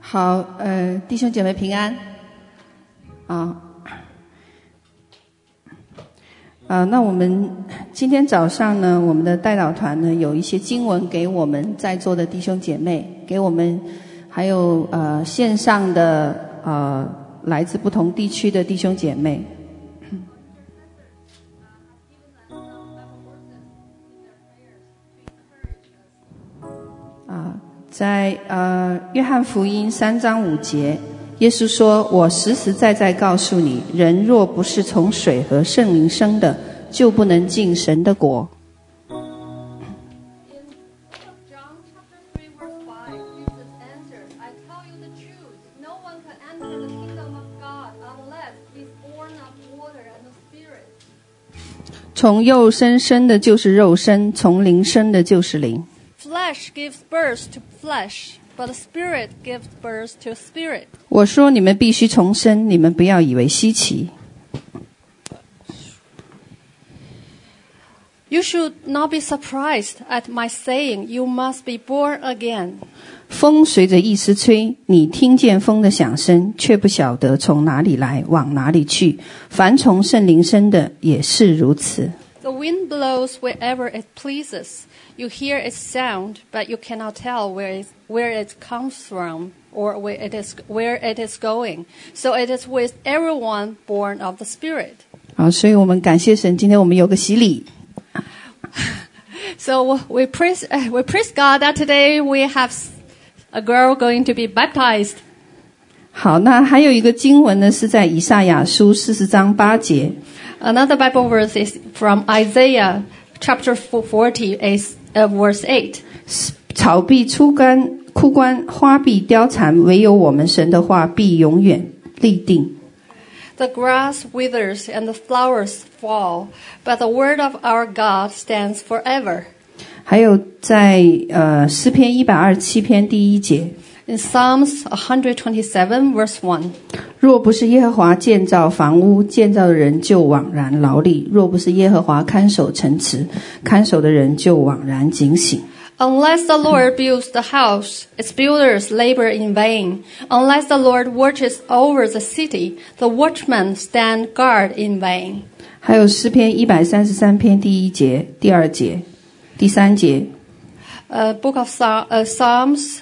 好，弟兄姐妹平安。那我们今天早上呢，我们的代祷团呢有一些经文给我们在座的弟兄姐妹，给我们还有线上的来自不同地区的弟兄姐妹。在约翰福音3章5节，耶稣说：“我实实在在告诉你，人若不是从水和圣灵生的，就不能进神的国。” “从肉身生的就是肉身，从灵生的就是灵。” Flesh gives birth to flesh, but the Spirit gives birth to spirit. 我说你们必须重生，你们不要以为稀奇。 You should not be surprised at my saying, you must be born again. 风随着意思吹，你听见风的响声，却不晓得从哪里来，往哪里去。凡从圣灵生的也是如此。 The wind blows wherever it pleases.You hear its sound, but you cannot tell where it comes from or where it is going. So it is with everyone born of the Spirit. 好，所以我们感谢神，今天我们有个洗礼。 So we praise God that today we have a girl going to be baptized. 好，那还有一个经文呢，是在以赛亚书40章8节。 Another Bible verse is from Isaiah chapter 40 verse 8. 草必枯干，花必凋残，唯有我们神的话必永远立定。 The grass withers and the flowers fall, but the word of our God stands forever. 还有在诗篇127篇第1节。 In Psalms 127 verse 1. 若不是耶和华建造房屋，建造的人就枉然劳力；若不是耶和华看守城池，看守的人就枉然警醒。 Unless the Lord builds the house, its builders labor in vain. Unless the Lord watches over the city, the watchmen stand guard in vain. 还有诗篇133篇第1节、第2节、第3节。 Book of Psalms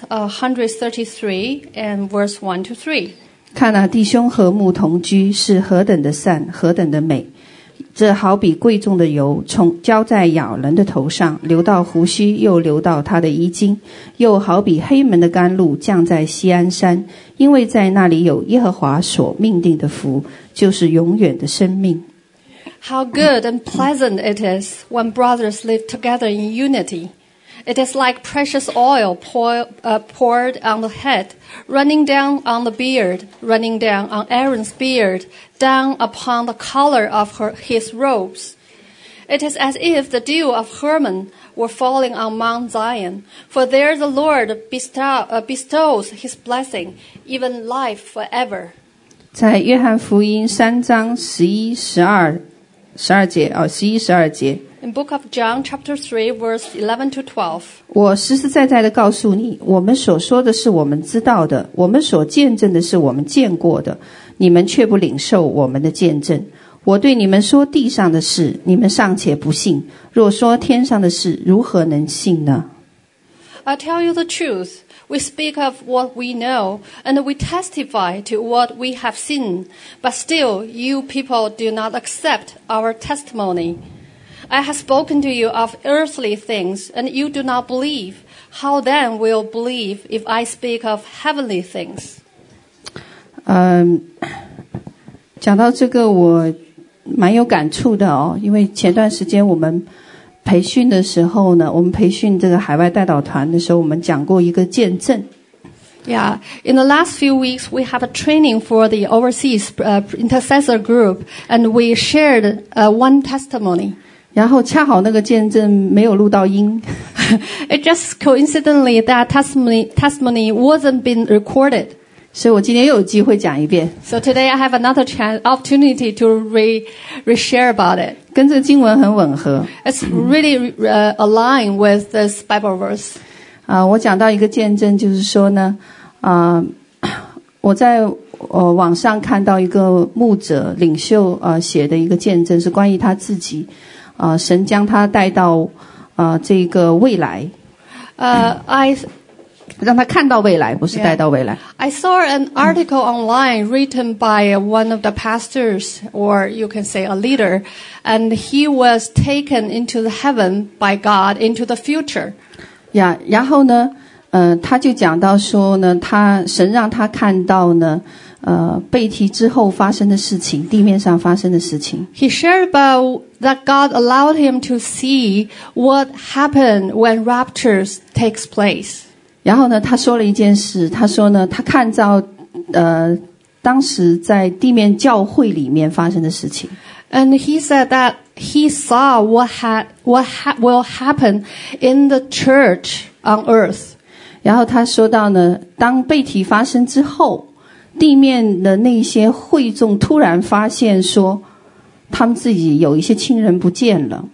133 and verse 1 to 3. 看啊，弟兄和睦同居，是何等的善，何等的美！这好比贵重的油，从浇在亚伦的头上，流到胡须，又流到他的衣襟；又好比黑门的甘露，降在锡安山，因为在那里有耶和华所命定的福，就是永远的生命。 How good and pleasant it is when brothers live together in unity.It is like precious oil poured on the head, running down on the beard, running down on Aaron's beard, down upon the collar of his robes. It is as if the dew of Hermon were falling on Mount Zion, for there the Lord bestows his blessing, even life forever. 在约翰福音3章11、12节11、12节。 In Book of John, chapter 3, verse 11 to 12. 我实实在在的告诉你，我们所说的是我们知道的，我们所见证的是我们见过的，你们却不领受我们的见证。我对你们说地上的事，你们尚且不信，若说天上的事，如何能信呢？ I tell you the truth. We speak of what we know, and we testify to what we have seen. But still, you people do not accept our testimony.I have spoken to you of earthly things, and you do not believe. How then will you believe if I speak of heavenly things? 讲到这个我蛮有感触的哦，因为前段时间我们培训的时候呢，我们培训这个海外代祷团的时候，我们讲过一个见证。 Yeah, in the last few weeks, we have a training for the overseas intercessor group, and we shared one testimony. 然后恰好那个见证没有录到音。 It just coincidentally that testimony wasn't been recorded. 所以我今天又有机会讲一遍。 So today I have another opportunity to re-share about it. 跟这个经文很吻合。 It's really aligned with this Bible verse. 我讲到一个见证，就是说呢， 我在网上看到一个牧者领袖写的一个见证，是关于他自己神将他带到这个未来。让他看到未来，不是带到未来。 I saw an article online written by one of the pastors, or you can say a leader, and he was taken into the heaven by God into the future. 然后呢，他就讲到说呢，神让他看到呢，被提之后发生的事情，地面上发生的事情。 He shared about that God allowed him to see what happened when raptures takes place. 然后呢，他说了一件事，他说呢，他看到当时在地面教会里面发生的事情。 And he said that he saw what will happen in the church on earth. 然后他说到呢，当被提發生之後，地面的那些會眾突然發現說，他們自己有一些親人不見了。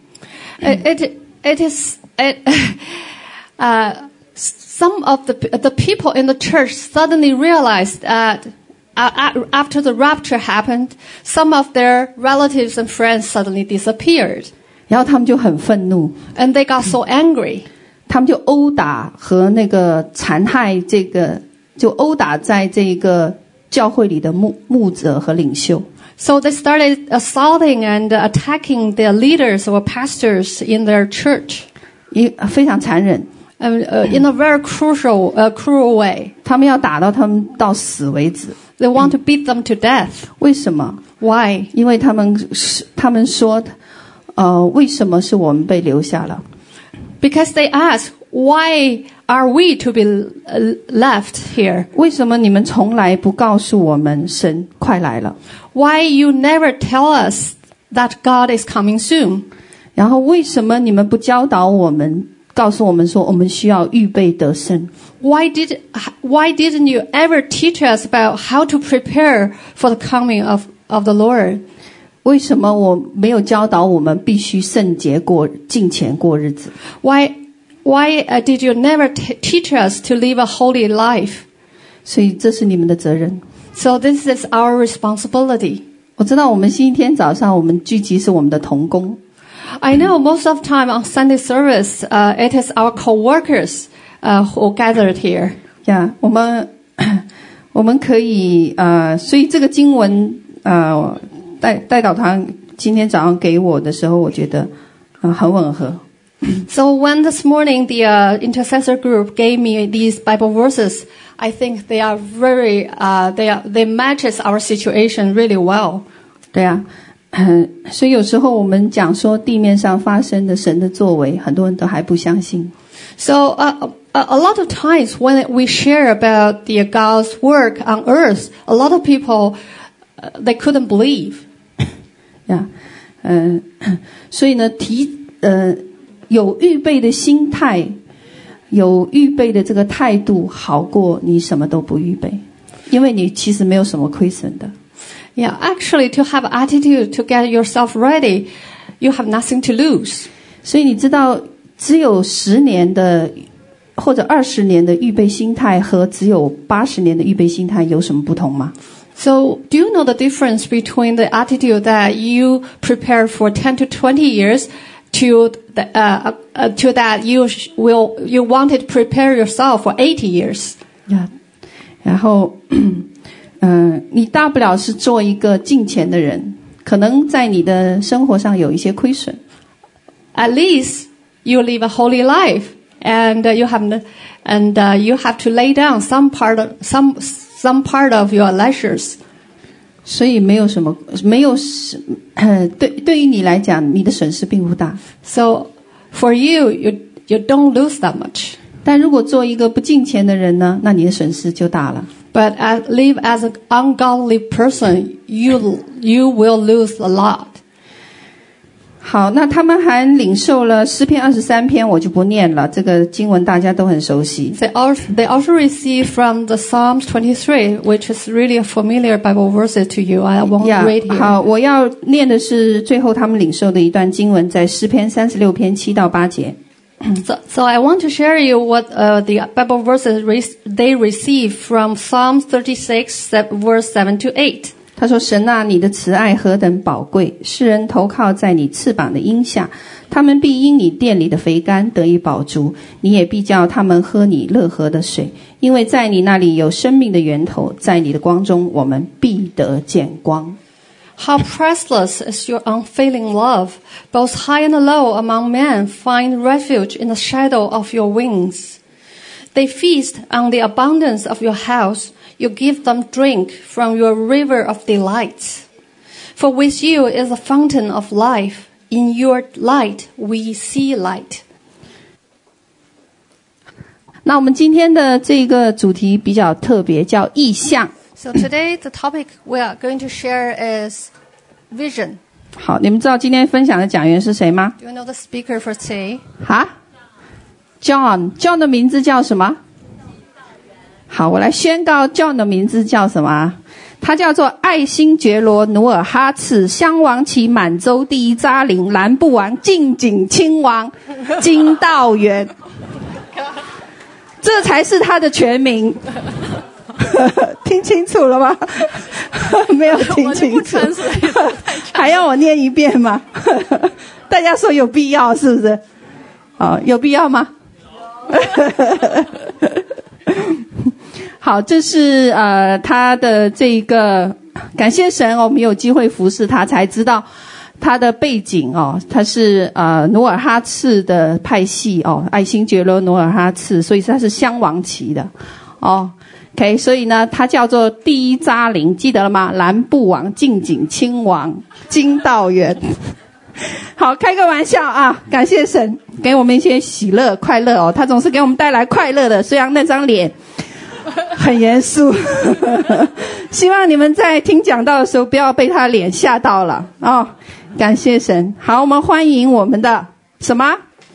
Some of the people in the church suddenly realized that after the rapture happened, some of their relatives and friends suddenly disappeared. 然後他們就很憤怒 And they got so angry. 他們就毆打和那個殘害就毆打在這個教會裡的牧者和領袖。 So they started assaulting and attacking the leaders or pastors in their church. 非常殘忍。 In a very cruel way. 他們要打到他們到死為止。 They want to beat them to death. 為什麼？ Why? 因為他們說，為什麼是我們被留下了？ Because they ask, why are we to be left here? 為什麼你們從來不告訴我們神快來了？ Why you never tell us that God is coming soon? 然後為什麼你們不教導我們？告訴我們說，我們需要預備得勝。 Why didn't you ever teach us about how to prepare for the coming of the Lord? 為什麼我沒有教導我們必須聖潔敬虔過日子？ Why did you never teach us to live a holy life? 所以這是你們的責任。 So this is our responsibility. 我知道我們星期天早上我們聚集是我們的同工。 I know most of the time on Sunday service, it is our co-workers who gathered here. 我們可以所以這個經文代導堂今天早上給我的時候，我覺得很吻合。 So when this morning the intercessor group gave me these Bible verses, I think they are they matches our situation really well. 對啊。所以有時候我們講說地面上發生的神的作為，很多人都還不相信。 So a lot of times when we share about the God's work on earth, a lot of people they couldn't believe. 所以呢，有預備的心態，有預備的這個態度，好過你什麼都不預備，因為你其實沒有什麼虧損的。 Yeah, actually, to have attitude to get yourself ready, you have nothing to lose. 所以你知道，只有10年的或者20年的預備心態和只有80年的預備心態有什麼不同嗎？ So, do you know the difference between the attitude that you prepare for 10 to 20 years to that you wanted to prepare yourself for 80 years? Yeah. 然後你大不了是做一個敬虔的人，可能在你的生活上有一些虧損。 At least you live a holy life, and you have to lay down some part of your leisures. 所以對於你來講，你的損失並不大。 So for you don't lose that much. 但如果做一個不敬虔的人呢，那你的損失就大了。 But live as an ungodly person, you will lose a lot. 好，那他们还領受了詩篇23篇，我就不念了，這個經文大家都很熟悉。 They also received from the Psalms 23, which is really a familiar Bible verses to you. I won't read here. 好，我要念的是最後他們領受的一段經文，在詩篇36篇7到8節。 So I want to share you what the Bible verses they receive from Psalm 36, verse 7 to 8. 他说：神啊，你的慈爱何等宝贵，世人投靠在你翅膀的荫下，他们必因你殿里的肥甘得以饱足，你也必叫他们喝你乐河的水，因为在你那里有生命的源头，在你的光中我们必得见光。 How priceless is your unfailing love! Both high and low among men find refuge in the shadow of your wings. They feast on the abundance of your house. You give them drink from your river of delights. For with you is a fountain of life. In your light we see light. 那我们今天的这个主题比较特别，叫意象。 So today the topic we are going to share is vision. 好，你们知道今天分享的讲员是谁吗？ Do you know the speaker for today? 哈 John 的名字叫什么？好，我来宣告 John 的名字叫什么？他叫做爱新觉罗努尔哈赤，襄王旗满洲第一扎领蓝布王晋景亲王金道元，这才是他的全名。听清楚了吗？没有听清楚，还要我念一遍吗？大家说有必要是不是？有必要吗？好，这是他的这个感谢神我们有机会服侍他，才知道他的背景他是努尔哈赤的派系爱新觉罗努尔哈赤，所以他是襄王旗的OK， 所以呢他叫做第一扎领，记得了吗？蓝布王晋景亲王金道元。好，开个玩笑啊，感谢神给我们一些喜乐快乐他总是给我们带来快乐的，虽然那张脸很严肃。希望你们在听讲道的时候不要被他脸吓到了感谢神。好，我们欢迎我们的什么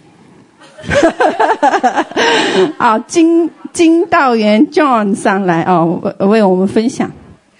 金道元 John 上来为我们分享。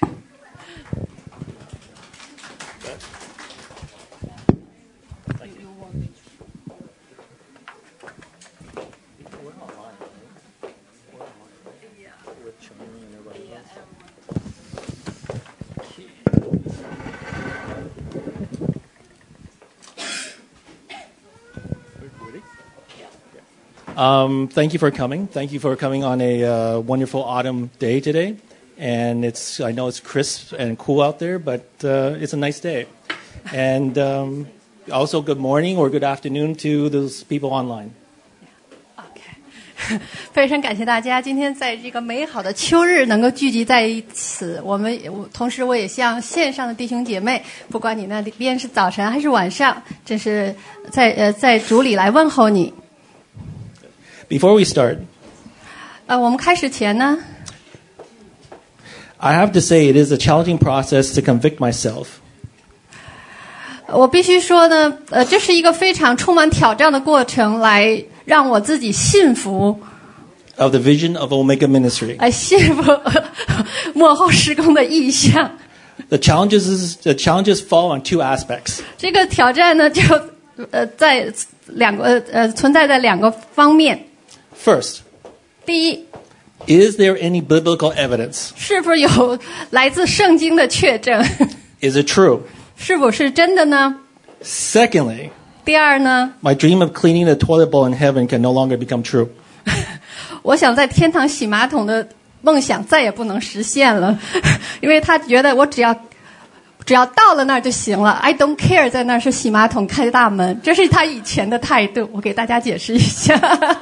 Thank you for coming. Thank you for coming on a wonderful autumn day today. And I know it's crisp and cool out there, but it's a nice day. And also good morning or good afternoon to those people online. 非常感谢大家今天在这个美好的秋日能够聚集在一起。同时我也向线上的弟兄姐妹，不管你那边是早晨还是晚上，这是在主里来问候你。 Before we start, 我们开始前呢 I have to say it is a challenging process to convict myself. 我必须说呢这是一个非常充满挑战的过程，来让我自己信服 of the vision of Omega Ministry. 来信服幕后事工的意向。 The challenges fall on two aspects. 这个挑战呢就在存在在两个方面。 First, 第一 is there any biblical evidence? 是否有来自圣经的确证 Is it true? 是否是真的呢？ Secondly, 第二呢 my dream of cleaning the toilet bowl in heaven can no longer become true. 我想在天堂洗马桶的梦想再也不能实现了，因为他觉得我只要到了那儿就行了 I don't care 在那儿是洗马桶开大门，这是他以前的态度。我给大家解释一下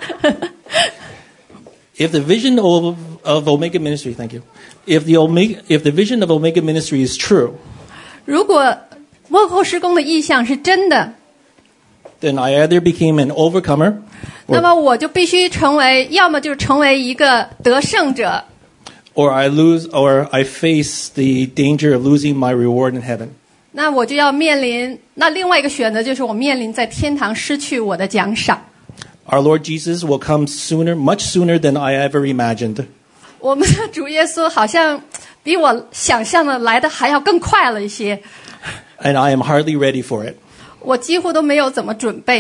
If the vision of Omega Ministry, thank you. If the vision of Omega Ministry is true, 如果幕后事工的意象是真的， then I either became an overcomer, 那么我就必须要么就成为一个得胜者， or I face the danger of losing my reward in heaven. 那我就要面临另外一个选择，就是我面临在天堂失去我的奖赏。 Our Lord Jesus will come sooner, much sooner than I ever imagined. 我们的主耶稣好像比我想象的来的还要更快了一些， And I am hardly ready for it. 我几乎都没有怎么准备呢。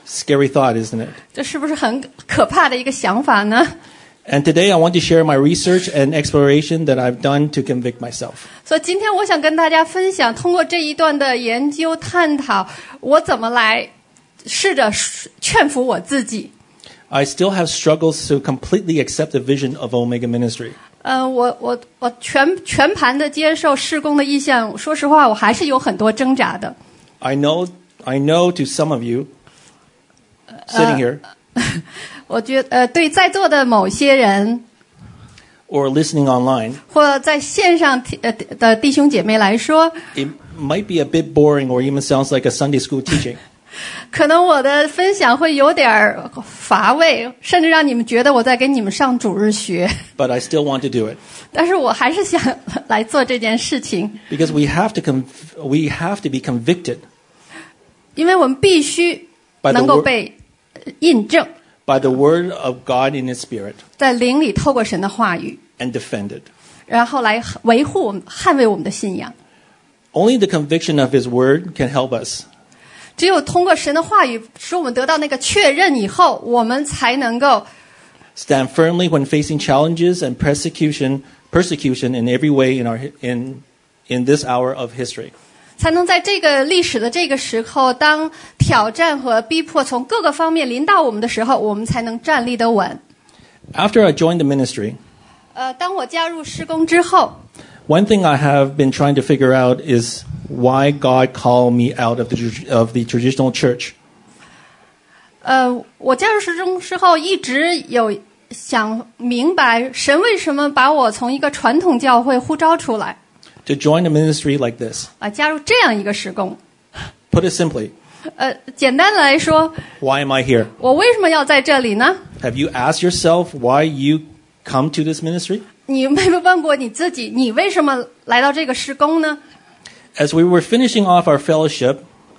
Scary thought, isn't it? 这是不是很可怕的一个想法呢？ And today I want to share my research and exploration that I've done to convict myself. 所以今天我想跟大家分享，通过这一段的研究探讨，我怎么来试着劝服我自己。 I still have struggles to completely accept the vision of Omega Ministry. 我全盘的接受事工的意向，说实话，我还是有很多挣扎的。 I know to some of you sitting here 我觉得对在座的某些人 or listening online, 或在线上的弟兄姐妹来说， it might be a bit boring or even sounds like a Sunday school teaching. 可能我的分享会有点乏味，甚至让你们觉得我在给你们上主日学。 But I still want to do it 但是我还是想来做这件事情， because we have to be convicted 因为我们必须 by 能 the 够 word 被印证， by the word of God in His Spirit 在灵里透过神的话语， and defended. 然后来维护我们、捍卫我们的信仰。 Only the conviction of His word can help us. 只有通过神的话语，使我们得到那个确认以后，我们才能够 Stand firmly when facing challenges and persecution in every way in this hour of history. 才能在这个历史的这个时候，当挑战和逼迫从各个方面临到我们的时候，我们才能站立得稳。 After I joined the ministry, 当我加入事工之后， one thing I have been trying to figure out is why God called me out of the traditional church. 我加入事工之后，一直有想明白神为什么把我从一个传统教会呼召出来， To join a ministry like this. 加入这样一个事工。 Put it simply, 简单的来说， why am I here? 我为什么要在这里呢？ Have you asked yourself why you come to this ministry? 你有没有问过你自己，你为什么来到这个事工呢？ As we were finishing off our fellowship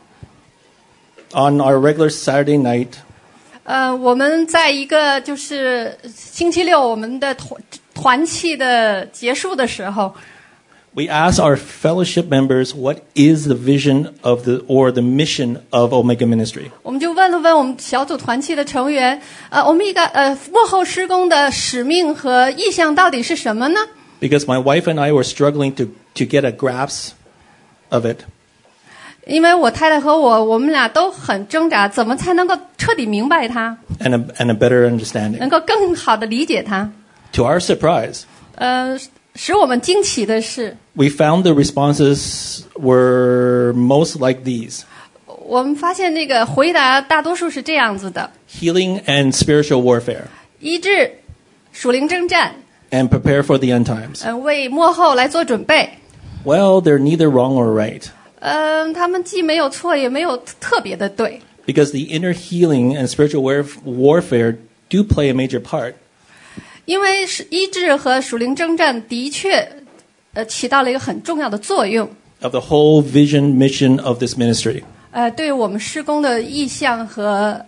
on our regular Saturday night, 我们在一个就是星期六我们的团契的结束的时候， we asked our fellowship members what is the vision of the mission of Omega Ministry. 我们就问了问我们小组团契的成员，我们幕后施工的使命和意向到底是什么呢？ Because my wife and I were struggling to get a grasp of it. 因为我太太和我们俩都很挣扎，怎么才能够彻底明白它， And a better understanding. 能够更好的理解它？ To our surprise, 使我们惊奇的是， we found the responses were most like these: 我们发现那个回答大多数是这样子的： healing and spiritual warfare, 医治、属灵征战， and prepare for the end times. 为末后来做准备。 Well, they're neither wrong or right, 他们既没有错，也没有特别的对， because the inner healing and spiritual warfare do play a major part. 因为是医治和属灵征战的确起到了一个很重要的作用， Of the whole vision mission of this ministry. 对我们施工的意向和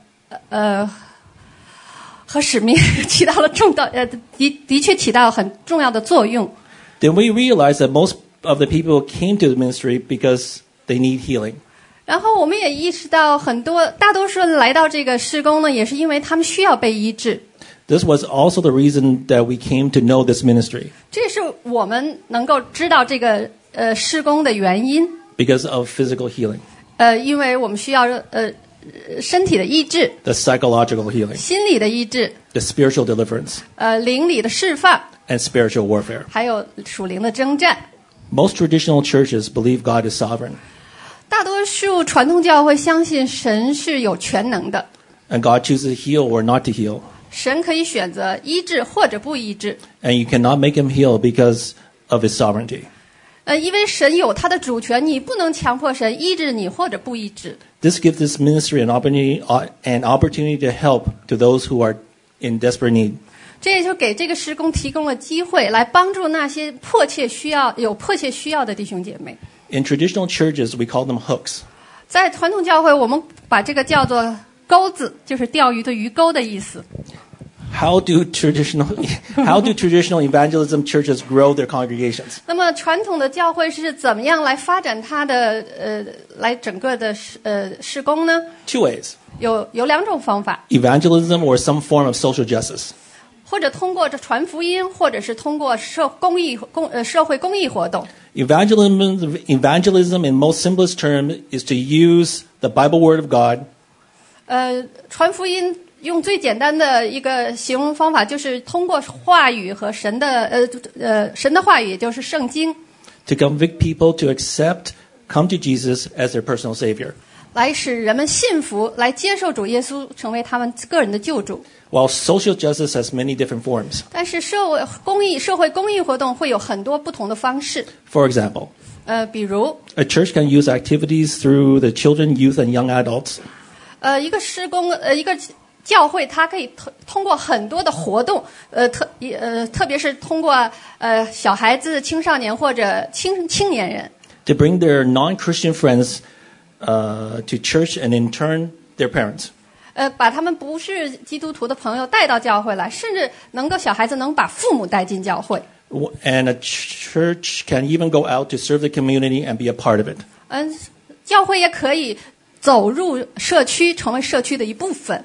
使命起到了的确起到很重要的作用。 Then we realized that most of the people came to the ministry because they need healing. 然后我们也意识到，大多数人来到这个施工呢，也是因为他们需要被医治。 This was also the reason that we came to know this ministry, 这是我们能够知道这个施工的原因。 because of physical healing, 因为我们需要身体的医治、 the psychological healing, 心理的医治、 the spiritual deliverance, 灵里的释放， and spiritual warfare. 还有属灵的征战。 Most traditional churches believe God is sovereign, 大多数传统教会相信神是有全能的， and God chooses to heal or not to heal. 神可以选择医治或者不医治。 And you cannot make him heal because of his sovereignty. 因为神有他的主权，你不能强迫神医治你或者不医治。 This gives this ministry an opportunity to help to those who are in desperate need. 这也就给这个施工提供了机会，来帮助那些迫切需要的弟兄姐妹。 In traditional churches, we call them hooks. 在传统教会，我们把这个叫做钩子，就是钓鱼的鱼钩的意思。 How do traditional evangelism churches grow their congregations? 那么传统的教会是怎么样来发展它的来整个的施工呢？ Two ways. 有两种方法， evangelism or some form of social justice. 或者通过这传福音，或者是通过社会公益活动。 Evangelism in most simplest term is to use the Bible Word of God 传福音用最简单的一个形容方法，就是通过话语和神的话语，也就是圣经， to convict people to come to Jesus as their personal Savior. 来使人们信服，来接受主耶稣成为他们个人的救主。 While social justice has many different forms. 但是社会公益活动会有很多不同的方式。 For example, 比如 a church can use activities through the children, youth, and young adults 一个一个教会，它可以通过很多的活动，特别是通过小孩子、青少年或者青年人 to bring their non-Christian friends to church and in turn their parents. 把他们不是基督徒的朋友带到教会来，甚至小孩子能把父母带进教会。 And a church can even go out to serve the community and be a part of it. 教会也可以走入社区，成为社区的一部分。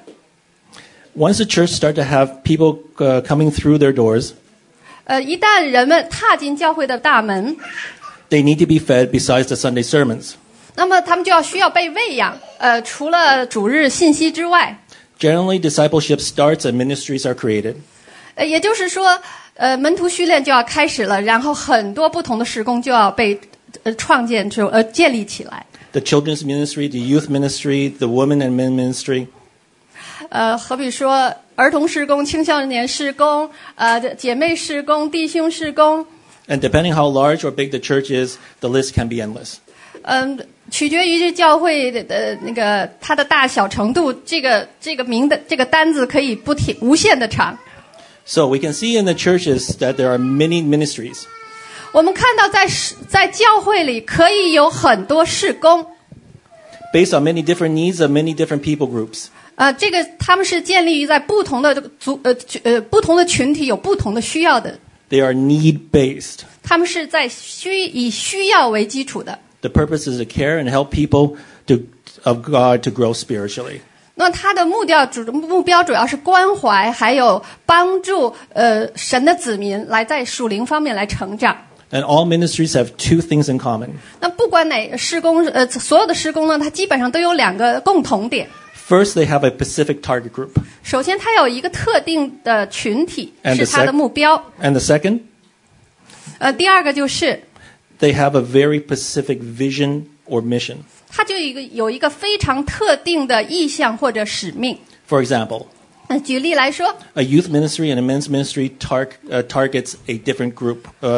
Once the church starts to have people coming through their doors, 一旦人们踏进教会的大门， they need to be fed besides the Sunday sermons. 那么他们需要被喂养。除了主日信息之外， Generally, discipleship starts and ministries are created. 也就是说，门徒训练就要开始了，然后很多不同的事工就要被建立起来。 The children's ministry, the youth ministry, the women and men ministry. 好比说儿童事工、青少年事工、姐妹事工、弟兄事工。 And depending how large or big the church is, the list can be endless. 取决于这教会的它的大小程度，这个单子可以无限的长。 So we can see in the churches that there are many ministries. 我们看到在教会里可以有很多事工 based on many different needs of many different people groups. 他们是建立于在不同的群体有不同的需要的。 They are need-based. 他们是在以需要为基础的。 The purpose is to care and help people of God to grow spiritually. 那他的目标主要是关怀，还有帮助神的子民来在属灵方面来成长。 And all ministries have two things in common. 那不管哪事工，所有的事工呢，它基本上都有两个共同点。 First, they have a specific target group. 首先，它有一个特定的群体 And 是它的目标。 And the second, 第二个就是 they have a very specific vision or mission. 它就有一个非常特定的意向或者使命。 For example, 举例来说， a youth ministry and a men's ministry targets a different group,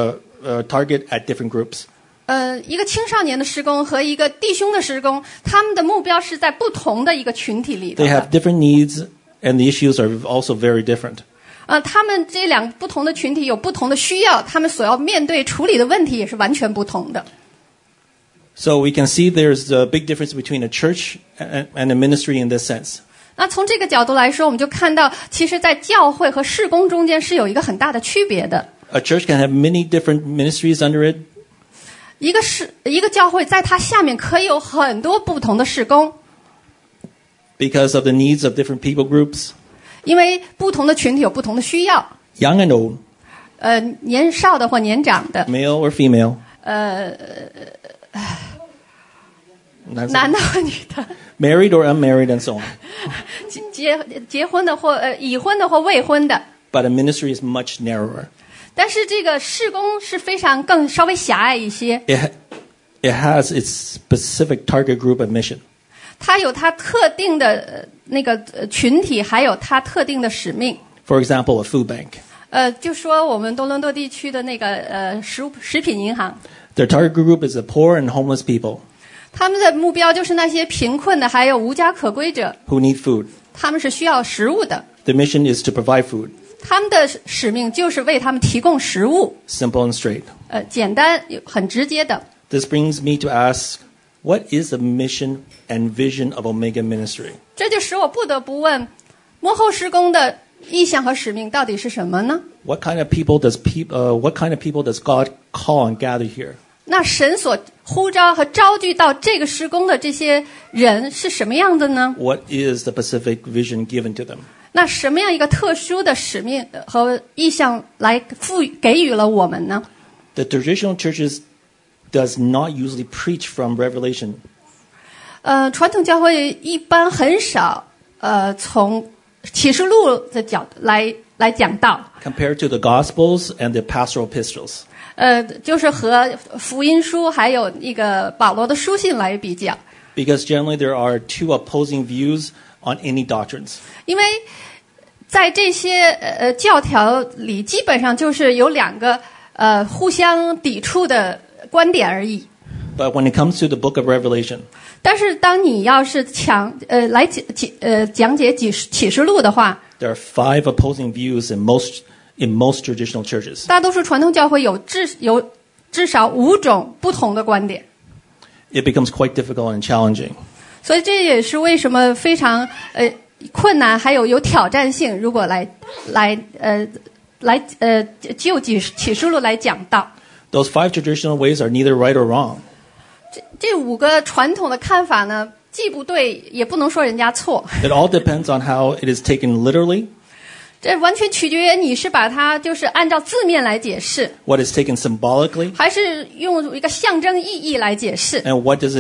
target at different groups. 一个青少年的事工和一个弟兄的事工，他们的目标是在不同的一个群体里的。 They have different needs, and the issues are also very different. 他们这两不同的群体有不同的需要，他们所要面对处理的问题也是完全不同的。 So we can see there's a big difference between a church and a ministry in this sense. 那从这个角度来说，我们就看到，其实，在教会和事工中间是有一个很大的区别的。 A church can have many different ministries under it. 一个教会在它下面可以有很多不同的事工。 Because of the needs of different people groups. 因为不同的群体有不同的需要。 Young and old. 年少的或年长的。 Male or female. 男的或女的。 Married or unmarried and so on. 结婚的或已婚的或未婚的。 But a ministry is much narrower. 但是这个事工是稍微狭隘一些。 It has its specific target group and mission. 它有它特定的群体，还有它特定的使命。 For example, a food bank. 就说我们多伦多地区的食品银行。 Their target group is the poor and homeless people. 他们的目标就是那些贫困的，还有无家可归者。 Who need food. 他们是需要食物的。 The mission is to provide food. 他们的使命就是为他们提供食物。 Simple and straight. 简单很直接的。 This brings me to ask, what is the mission and vision of Omega Ministry? 这就使我不得不问，幕后事工的意向和使命到底是什么呢？ What kind of people does God call and gather here? 那神所呼召和召聚到这个施工的这些人是什么样的呢？ What is the specific vision given to them? 那什么样一个特殊的使命和意向来给予了我们呢？ The traditional churches does not usually preach from Revelation. 传统教会一般很少从启示录的角度来讲道。 Compared to the Gospels and the pastoral epistles. 就是和福音书还有那个保罗的书信来比较。 Because generally there are two opposing views on any doctrines. 因为在这些教条里，基本上就是有两个互相抵触的观点而已。 But when it comes to the book of Revelation, 但是当你要是来讲解启示录的话， there are 5 opposing views in most traditional churches. 大多数传统教会有至少5种不同的观点。 It becomes quite difficult and challenging. 所以这也是为什么非常困难，还有挑战性。如果就启示录来讲道， Those 5 traditional ways are neither right or wrong. 这5个传统的看法呢，既不对，也不能说人家错。 It all depends on how it is taken literally, 这完全取决于你是把它就是按照字面来解释， what is taken symbolically, 还是用一个象征意义来解释， and what does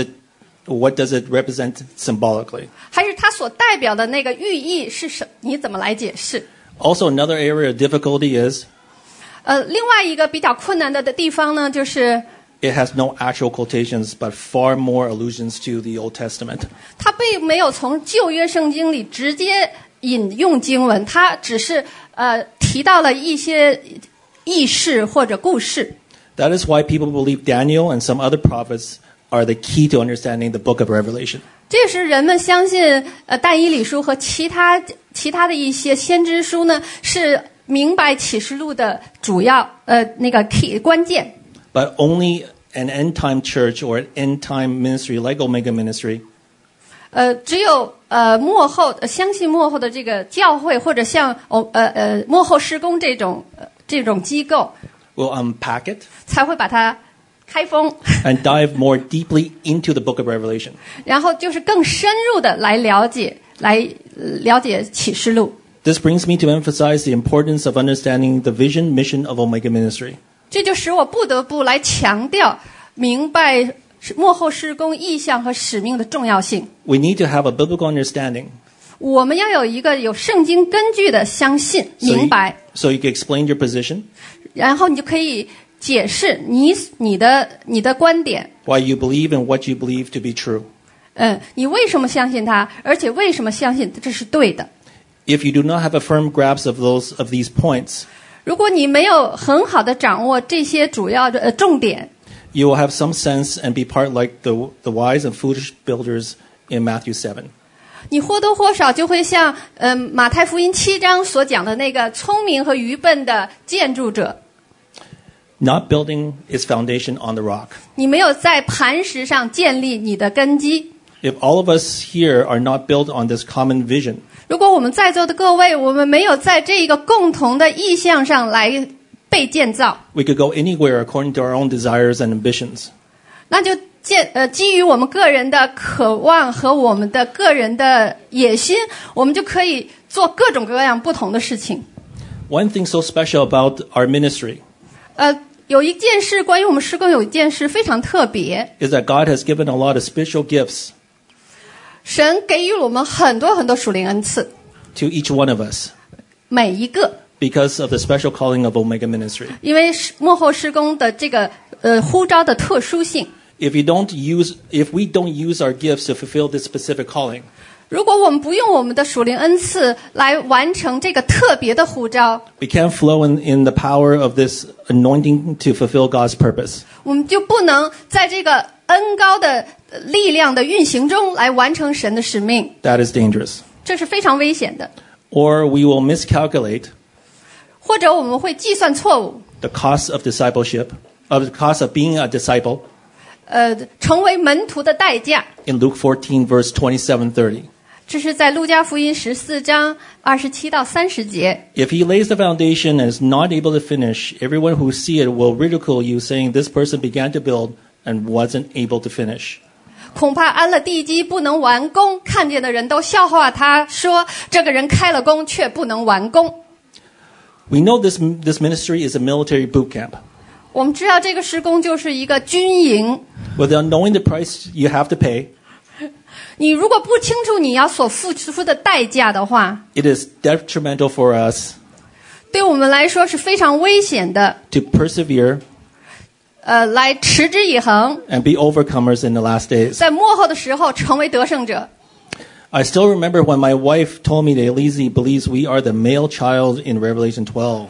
it represent symbolically. 还是它所代表的那个寓意是你怎么来解释。 Also, another area of difficulty is 另外一个比较困难的地方呢，就是 it has no actual quotations, but far more allusions to the Old Testament. 它并没有从旧约圣经里直接引用经文，它只是提到了一些轶事或者故事。 That is why people believe Daniel and some other prophets are the key to understanding the book of Revelation. 这是人们相信但以理书和其他的一些先知书呢，是明白启示录的主要那个 key 关键。 But only an end-time church or an end-time ministry like Omega Ministry 只有相信幕后的这个教会，或者像幕后施工这种机构， will unpack it 才会把它开封， and dive more deeply into the book of Revelation. 然后就是更深入的来了解启示录。 This brings me to emphasize the importance of understanding the vision, mission of Omega Ministry. 这就使我不得不来强调明白幕后施工意向和使命的重要性。 We need to have a biblical understanding 我们要有一个有圣经根据的相信 明白， so you can explain your position, 然后你就可以解释你的观点。 why you believe and what you believe to be true. 你为什么相信它，而且为什么相信这是对的？ If you do not have a firm grasp of these points, 如果你没有很好的掌握这些主要的重点， you will have some sense and be part like the wise and foolish builders in Matthew 7. 你或多或少就会像马太福音7章所讲的那个聪明和愚笨的建筑者， Not building its foundation on the rock. 你没有在磐石上建立你的根基。 If all of us here are not built on this common vision, 如果我们在座的各位，我们没有在这个共同的意向上来被建造， we could go anywhere according to our own desires and ambitions. 那就基于我们个人的渴望和我们的个人的野心，我们就可以做各种各样不同的事情。 One thing so special about our ministry 有一件事，关于我们施工有一件事非常特别， is that God has given a lot of spiritual gifts 神给予了我们很多很多属灵恩赐， to each one of us 每一个， because of the special calling of Omega Ministry. 因为幕后施工的这个呼召的特殊性。 If we don't use our gifts to fulfill this specific calling, 如果我们不用我们的属灵恩赐来完成这个特别的呼召， we can't flow in the power of this anointing to fulfill God's purpose. 我们就不能在这个恩高的力量的运行中来完成神的使命， That is dangerous. 这是非常危险的。 Or we will miscalculate 或者我们会计算错误， the cost of discipleship, of the cost of being a disciple 成为门徒的代价。 in Luke 14, verse 27-30. 这是在路加福音14章27到30节。 If he lays the foundation and is not able to finish, everyone who see it will ridicule you, saying, This person began to build and wasn't able to finish. 恐怕安了地基不能完工，看见的人都笑话他，说这个人开了工却不能完工。 We know this ministry is a military boot camp. 我们知道这个施工就是一个军营， Without knowing the price you have to pay, 你如果不清楚你要所付出的代价的话， it is detrimental for us 对我们来说是非常危险的。 to persevere 来持之以恒， and be overcomers in the last days. 在末后的时候成为得胜者。 I still remember when my wife told me that Elise believes we are the male child in Revelation 12.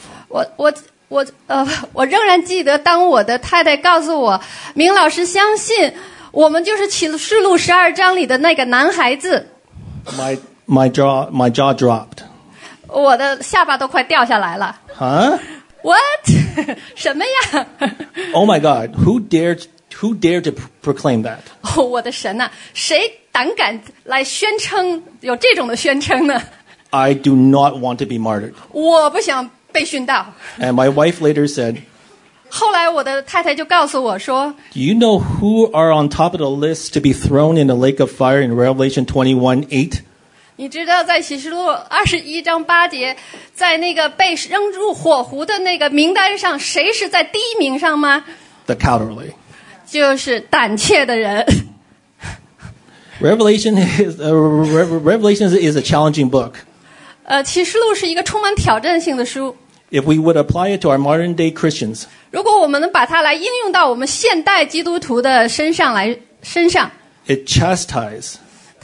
我仍然记得，当我的太太告诉我，明老师相信我们就是启示录12章里的那个男孩子， My jaw dropped. 我的下巴都快掉下来了。 Huh? What？ 什么呀？ Oh my God! Who dared to proclaim that? 哦，我的神呐，谁胆敢来宣称有这种的宣称呢？ I do not want to be martyred. 我不想被殉道。 And my wife later said, 后来我的太太就告诉我说， Do you know who are on top of the list to be thrown in the lake of fire in Revelation 21:8? 你知道在启示录21章8节，在那个被扔入火湖的那个名单上，谁是在第一名上吗？ The cowardly. 就是胆怯的人。 Revelation is a challenging book. 启示录是一个充满挑战性的书。 If we would apply it to our modern day Christians, 如果我们能把它来应用到我们现代基督徒的身上， it chastises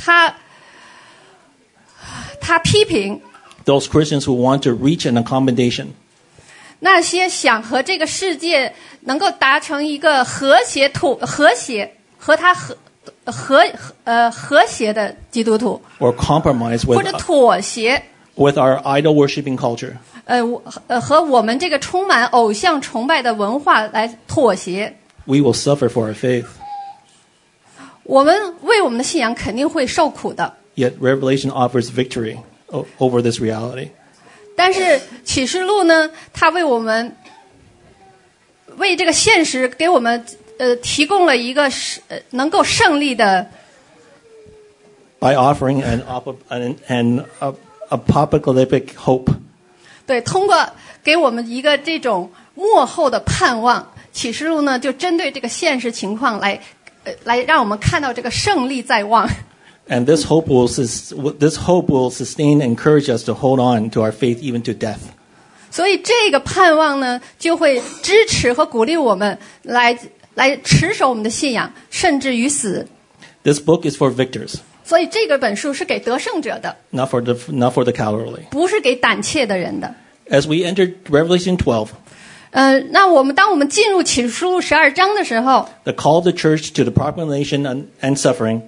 他批评 those Christians who want to reach an accommodation. 那些想和这个世界能够达成一个和谐的基督徒， Or compromise 或者妥协， with our idol worshiping culture. 和我们这个充满偶像崇拜的文化来妥协， We will suffer for our faith. 我们为我们的信仰肯定会受苦的。 Yet Revelation offers victory over this reality. 但是启示录呢，它为这个现实给我们提供了一个能够胜利的。 By offering an apocalyptic hope. 对，通过给我们一个这种末后的盼望，启示录呢就针对这个现实情况来让我们看到这个胜利在望。 And this hope will sustain and encourage us to hold on to our faith even to death. 所以这个盼望呢，就会支持和鼓励我们来持守我们的信仰，甚至于死。 This book is for victors. 所以这个本书是给得胜者的， Not for the cowardly. 不是给胆怯的人的。 As we enter Revelation 12, 那当我们进入启示录12章的时候， the call of the church to the proclamation and suffering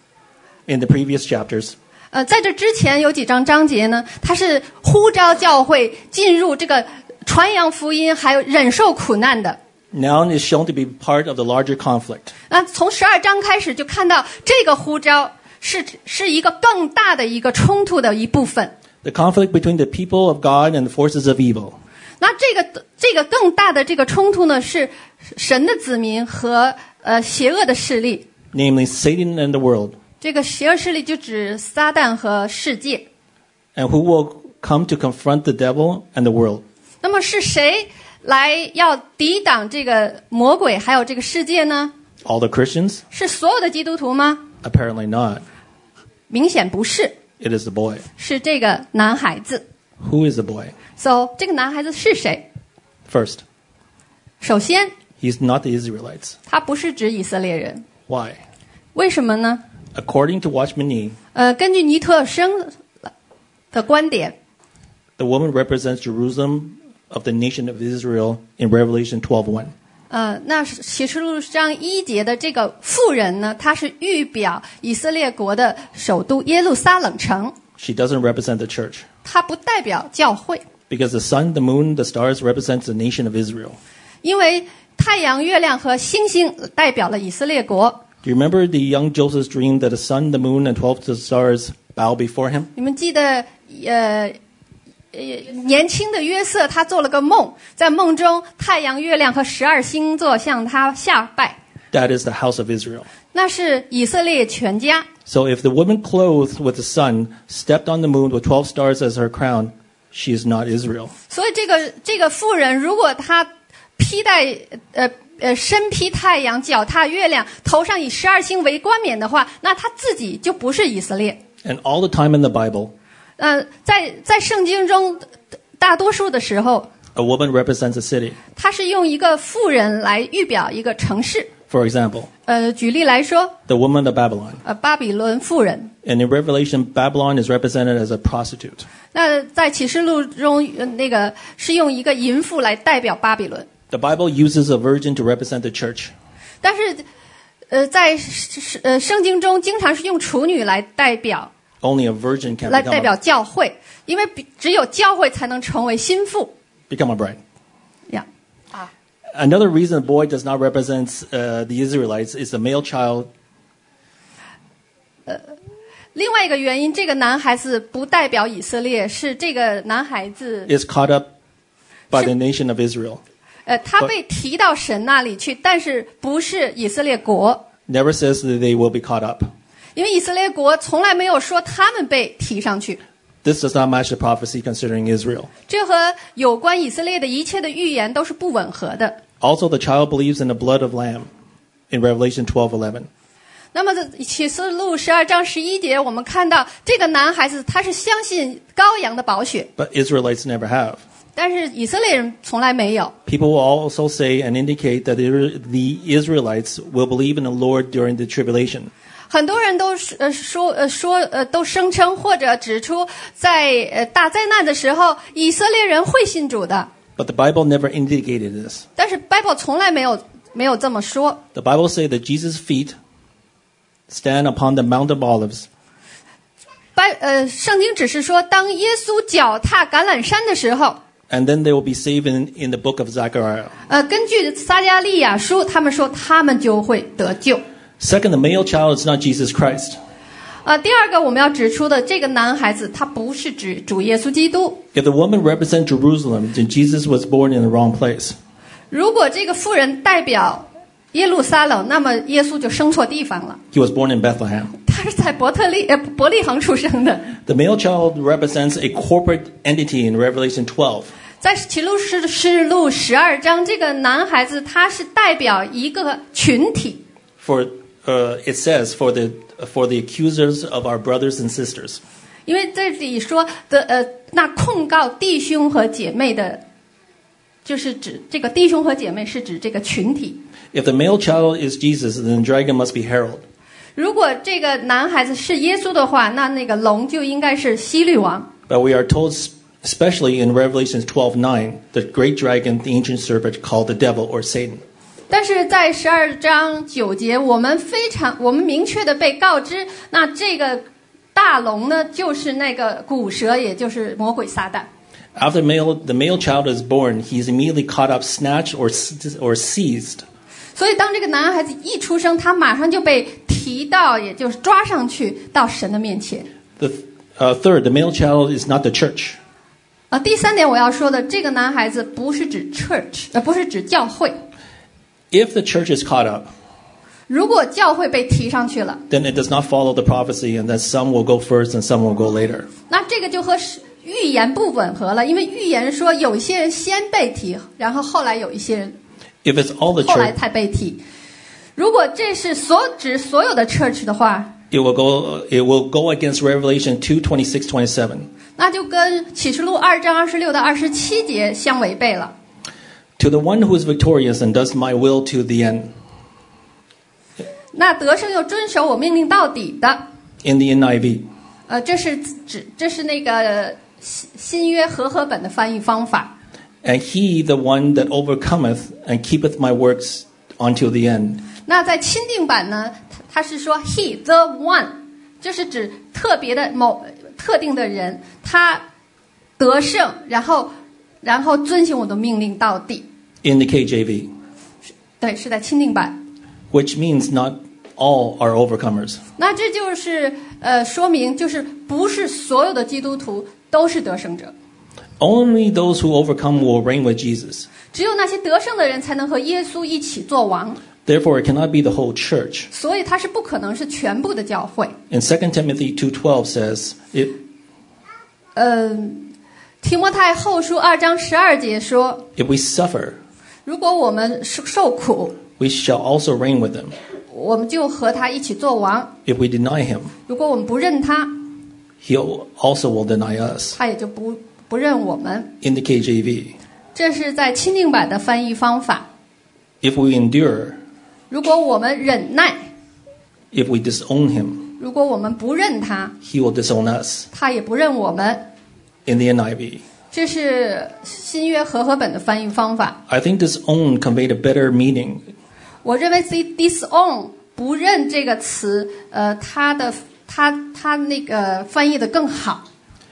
in the previous chapters, 在这之前有几章节呢，它是呼召教会进入这个传扬福音，还有忍受苦难的。 now is shown to be part of the larger conflict. 那从12章开始就看到这个呼召是一个更大的一个冲突的一部分。 The conflict between the people of God and the forces of evil. 那这个更大的这个冲突呢，是神的子民和邪恶的势力。 Namely Satan and the world. 这个邪恶势力就指撒旦和世界。 And who will come to confront the devil and the world? 那么是谁来要抵挡这个魔鬼还有这个世界呢？ All the Christians? 是所有的基督徒吗？ Apparently not. 明显不是， It is the boy. 是这个男孩子。 Who is the boy? So 这个男孩子是谁？ First, 首先， he's not the Israelites. 他不是指以色列人。 Why? 为什么呢？ According to Watchman Nee, 根据尼特生的观点， the woman represents Jerusalem of the nation of Israel in Revelation 12:1. 那启示录章1节的这个妇人呢，她是预表以色列国的首都耶路撒冷城， She doesn't represent the church 她不代表教会， because the sun, the moon, the stars represents the nation of Israel. 因为太阳、月亮和星星代表了以色列国。 Do you remember the young Joseph's dream that the sun, the moon, and 12 stars bow before him. 你们记得年轻的约瑟他做了个梦，在梦中太阳、月亮和12星座向他下拜。 That is the house of Israel. 那是以色列全家。 So if the woman clothed with the sun stepped on the moon with 12 stars as her crown, she is not Israel. 所以这个妇人，如果她披戴身披太阳，脚踏月亮，头上以12星为冠冕的话，那她自己就不是以色列。 And all the time in the Bible, 在圣经中，大多数的时候， a woman represents a city. 她是用一个妇人来预表一个城市。 For example, 举例来说， the woman of Babylon. 巴比伦妇人。 And in Revelation, Babylon is represented as a prostitute. 那在启示录中，那个是用一个淫妇来代表巴比伦。 The Bible uses a virgin to represent the church. 但是，在圣经中经常是用处女来代表 Only a virgin can 来代表教会，因为只有教会才能成为心腹。 become a bride. 呀， Another reason the boy does not represent the Israelites is the male child 另外一个原因，这个男孩子不代表以色列，是这个男孩子， is caught up by the nation of Israel. 他被提到神那里去，但是不是以色列国， Never says that they will be caught up. 因为以色列国从来没有说他们被提上去。 This does not match the prophecy concerning Israel. 这和有关以色列的一切的预言都是不吻合的。 Also, the child believes in the blood of lamb in Revelation 12:11. 那么在启示录12章11节，我们看到这个男孩子他是相信羔羊的宝血， But Israelites never have. 但是以色列人从来没有。 People will also say and indicate that the Israelites will believe in the Lord during the tribulation. 很多人都都声称或者指出，在大灾难的时候，以色列人会信主的。 But the Bible never indicated this. 但是 Bible 从来没有这么说。 The Bible says that Jesus' feet stand upon the Mount of Olives. 圣经只是说，当耶稣脚踏橄榄山的时候， And then they will be saved in the book of Zechariah. 根据撒迦利亚书，他们说他们就会得救。 Second, the male child is not Jesus Christ. 第二个我们要指出的，这个男孩子他不是指主耶稣基督。 If the woman represents Jerusalem, then Jesus was born in the wrong place. 如果这个妇人代表耶路撒冷，那么耶稣就生错地方了。 He was born in Bethlehem. 他是在伯利恒出生的。 The male child represents a corporate entity in Revelation 12. 在启示录12章，这个男孩子他是代表一个群体。 For it says for the accusers of our brothers and sisters. 因为这里说的那控告弟兄和姐妹的，就是指这个弟兄和姐妹是指这个群体。 If the male child is Jesus, then the dragon must be Herod. 如果这个男孩子是耶稣的话，那个龙就应该是希律王。 But we are told, especially in Revelation 12:9, the great dragon, the ancient serpent, called the devil or Satan. 但是在12章9节，我们明确的被告知，那这个大龙呢，就是那个古蛇，也就是魔鬼撒旦。 After the male child is born, he is immediately caught up, snatched, or seized. 所以当这个男孩子一出生，他马上就被提到，也就是抓上去到神的面前。 Third, the male child is not the church. 第三点我要说的，这个男孩子不是指 church， 不是指教会。 If the church is caught up, 如果教会被提上去了， then it does not follow the prophecy, and that some will go first and some will go later. 那这个就和预言不吻合了，因为预言说有一些人先被提，然后后来有一些人 If it's all the 后来 church, 才被提。如果这是指所有的 church 的话， it will go against Revelation 2:26-27. 那就跟启示录2章26到27节相违背了。 To the one who is victorious and does my will to the end. 那得胜又遵守我命令到底的， In the NIV. 这是那个新约和合本的翻译方法。 And he, the one that overcometh and keepeth my works until the end. 那在钦定版呢，它是说 he the one， 就是指特别的某特定的人，他得胜，然后遵行我的命令到底。 In the KJV. 对，是在钦定版。 Which means not all are overcomers. 那这就是说明，就是不是所有的基督徒都是得胜者， Only those who overcome will reign with Jesus. 只有那些得胜的人才能和耶稣一起做王， Therefore, it cannot be the whole church. 所以它是不可能是全部的教会。 And 2 Timothy 2:12 says, 提摩太后书2章12节说， if we suffer, 如果我们受苦， we shall also reign with him. 我们就和他一起做王； If we deny him, 如果我们不认他， he also will deny us. 他也就不认我们。 In the KJV, 这是在钦定版的翻译方法。 if we endure, 如果我们忍耐， if we disown him, 如果我们不认他， he will disown us. 他也不认我们。 In the NIV, 这是新约和合本的翻译方法。 I think disown conveyed a better meaning. 我认为 disown 不认这个词，它那个翻译的更好。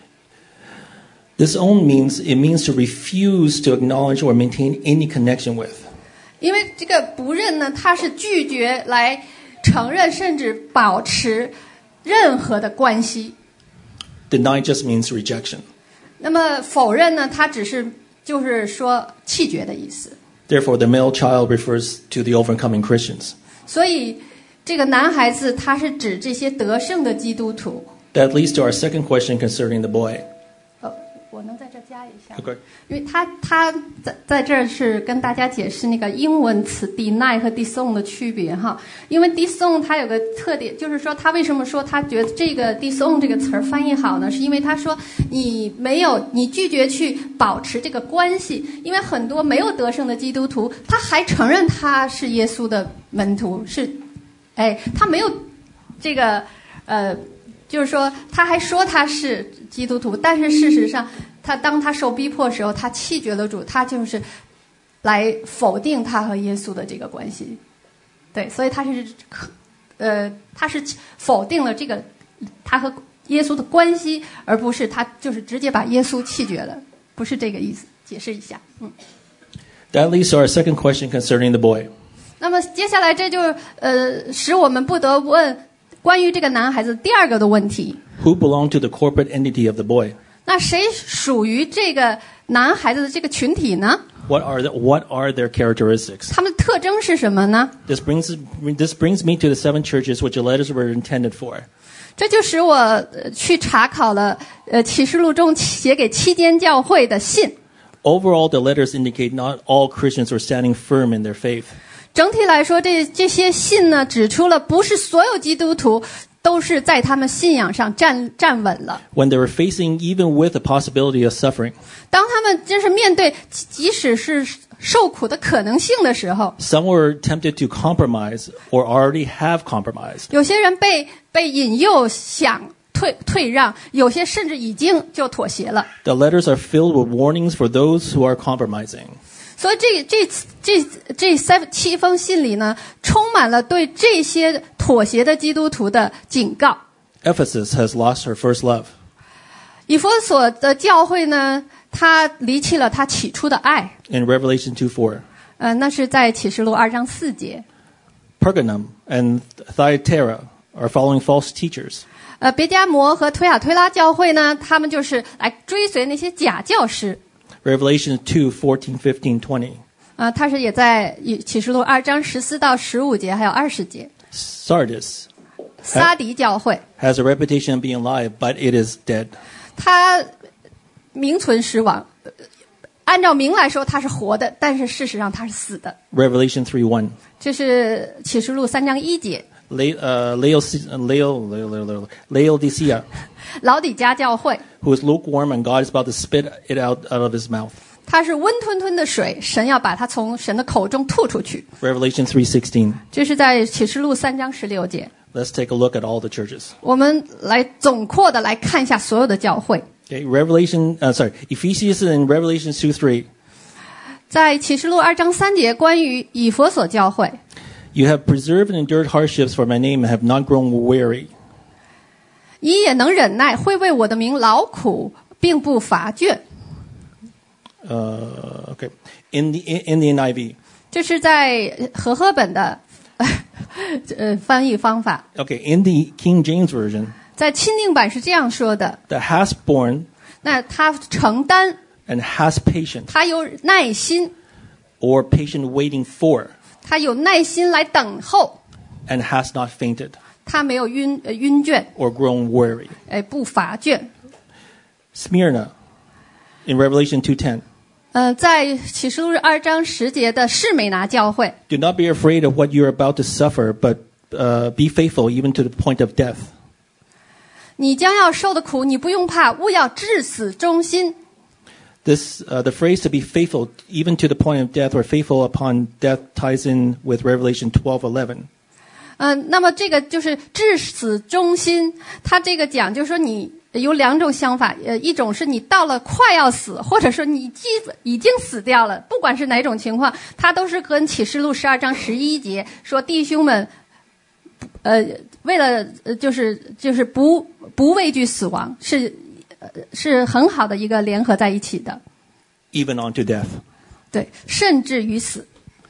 Disown means to refuse to acknowledge or maintain any connection with. 因为这个不认呢，它是拒绝来承认甚至保持任何的关系。 Deny just means rejection. 那么否认呢，它只是就是说弃绝的意思。 Therefore, the male child refers to the overcoming Christians. 所以这个男孩子他是指这些得胜的基督徒。 That leads to our second question concerning the boy. 我能在这加一下。 Okay. 因为他在这儿是跟大家解释那个英文词 deny 和 disown 的区别哈。因为 disown 它有个特点，就是说他为什么说他觉得这个 disown 这个词儿翻译好呢？是因为他说你拒绝去保持这个关系，因为很多没有得胜的基督徒，他还承认他是耶稣的门徒，他没有这个就是说他还说他是基督徒，但是事实上当他受逼迫的时候，他弃绝了主，他就是来否定他和耶稣的这个关系。对，所以他是否定了这个他和耶稣的关系，而不是他就是直接把耶稣弃绝了，不是这个意思。解释一下。 That leads to our second question concerning the boy. 那么接下来这就使我们不得不问关于这个男孩子第二个的问题。 Who belonged to the corporate entity of the boy? 那谁属于这个男孩子的这个群体呢？ What are their characteristics? 他们的特征是什么呢？ This brings me to the 7 churches which the letters were intended for. 这就使我去查考了启示录中写给7间教会的信。 Overall, the letters indicate not all Christians were standing firm in their faith. 整体来说，这些信呢，指出了不是所有基督徒都是在他们信仰上站稳了。 When they were facing even with the possibility of suffering, 当他们真是面对即使是受苦的可能性的时候， some were tempted to compromise or already have compromised. 有些人被引诱想退让，有些甚至已经就妥协了。 The letters are filled with warnings for those who are compromising. 所以这7封信里呢，充满了对这些妥协的基督徒的警告。 Ephesus has lost her first love. 以弗所的教会呢，他离弃了他起初的爱。 In Revelation 2:4, 那是在启示录2章4节。 Pergamum and Thyatira are following false teachers. 别迦摩和推雅推拉教会呢，他们就是来追随那些假教师。 Revelation 2:14, 15, 20. 他是也在启示录2章14到15节，还有20节。 Sardis 撒迪教会， has a reputation of being alive, but it is dead. 他名存实亡，按照名来说他是活的，但是事实上他是死的。 Revelation 3:1. 这是启示录3章1节。 Laodicea, 老底嘉教会， who is lukewarm and God is about to spit it out of his mouth. 它是温吞吞的水，神要把它从神的口中吐出去。 Revelation 3:16. 这是在启示录3章16节。 Let's take a look at all the churches. 我们来总括的来看一下所有的教会。 Okay, Ephesians and Revelation 2:3. 在启示录2章3节，关于以弗所教会， You have preserved and endured hardships for my name and have not grown weary. 你也能忍耐，会为我的名劳苦，并不乏倦。 Okay. In the NIV, 这是在和合本的翻译方法。 Okay, in the King James Version, 在钦定版是这样说的， that has borne 那他承担， and has patient, 他有耐心， or patient waiting for, 他有耐心来等候， and has not fainted, 他没有晕倦， or grown weary. 不乏倦。 Smyrna, in Revelation 2:10, 在启示录2章10节的士美拿教会， do not be afraid of what you're about to suffer, but be faithful even to the point of death. 你将要受的苦，你不用怕，务要至死忠心。 This, the phrase to be faithful even to the point of death or faithful upon death ties in with Revelation 12:11. 那么这个就是至死忠心，他这个讲就是说你有两种想法，一种是你到了快要死，或者说你已经死掉了，不管是哪种情况，他都是跟启示录12章11节说弟兄们，为了就是不畏惧死亡，是很好的一个联合在一起的， Even unto death. 对，甚至于死。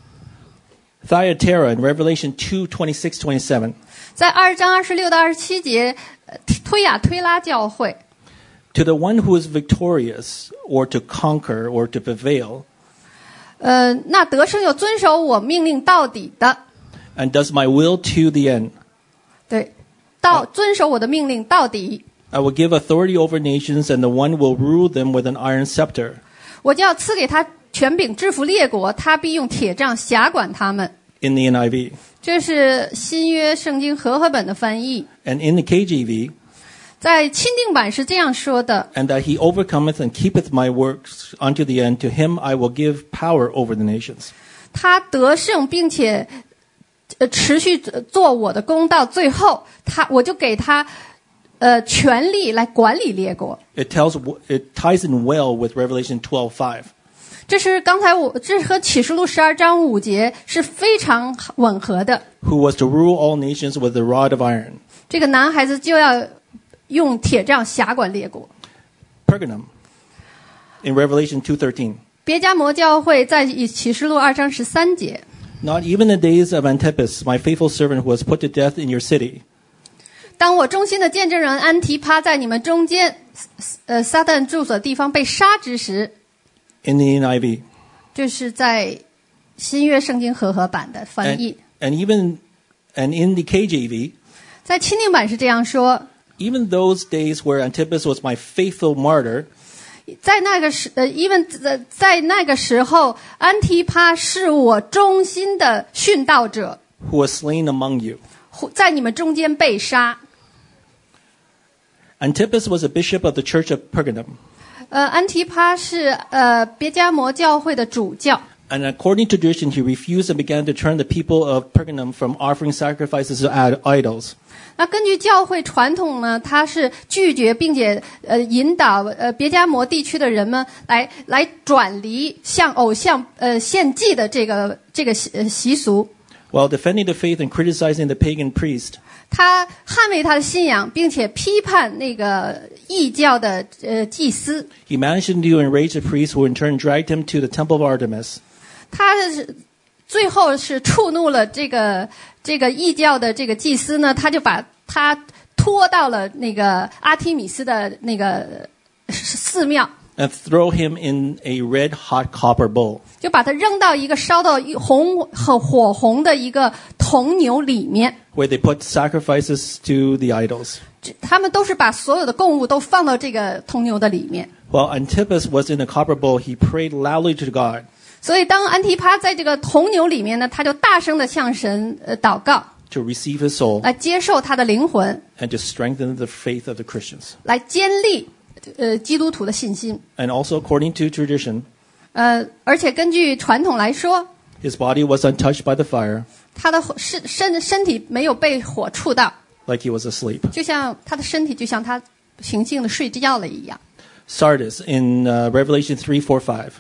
Thyatira in Revelation 2:26-27. 在2章26到27节，推雅推拉教会， To the one who is victorious, or to conquer, or to prevail, 那得胜有遵守我命令到底的， and does my will to the end, 对，遵守我的命令到底， I will give authority over nations, and the one will rule them with an iron scepter. 我就要赐给他权柄制服列国，他必用铁杖辖管他们。 In the NIV. 这是新约圣经和合本的翻译， And in the KJV, 在钦定版是这样说的： and that he overcometh and keepeth my works unto the end, to him I will give power over the nations. 他得胜，并且持续做我的工到最后，我就给他权力来管理列国。 It ties in well with Revelation 12:5. 这是这和启示录12章5节是非常吻合的。 Who was to rule all nations with a rod of iron. 这个男孩子就要用铁杖辖管列国。 Pergamum, in Revelation 2:13. 别迦摩教会在启示录2章13节。 Not even the days of Antipas, my faithful servant, who was put to death in your city. 当我忠心的见证人安提帕在你们中间，撒旦住所的地方被杀之时， In the NIV. 这是在新约圣经和合版的翻译。 And in the KJV, 在钦定版是这样说： even those days where Antipas was my faithful martyr, 在那个时候，安提帕是我忠心的殉道者， who was slain among you. 在你们中间被杀。 Antipas was a bishop of the church of Pergamum. 安提帕是别迦摩教会的主教。 And according to tradition, he refused and began to turn the people of Pergamum from offering sacrifices to idols. 那根据教会传统呢，他是拒绝并且引导别迦摩地区的人们来转离向偶像献祭的这个习俗。 While defending the faith and criticizing the pagan priest, 他捍卫他的信仰，并且批判那个异教的祭司。 he managed to enrage the priest, who in turn dragged him to the temple of Artemis. 他最后是触怒了这个异教的这个祭司呢，他就把他拖到了那个阿提米斯的那个寺庙。 And throw him in a red-hot copper bowl. 就把它扔到一个烧到火红的一个铜牛里面， Where they put sacrifices to the idols. 他们都是把所有的供物都放到这个铜牛的里面。 While Antipas was in the copper bowl, he prayed loudly to God. 所以当安提帕在这个铜牛里面呢，他就大声的向神祷告， To receive his soul 来接受他的灵魂， and to strengthen the faith of the Christians. 来坚立基督徒的信心。 And also, according to tradition, 而且根据传统来说， his body was untouched by the fire, 他的身体没有被火触到， like he was asleep. 就像他的身体就像他平静的睡觉了一样。 Sardis in Revelation 3:4-5.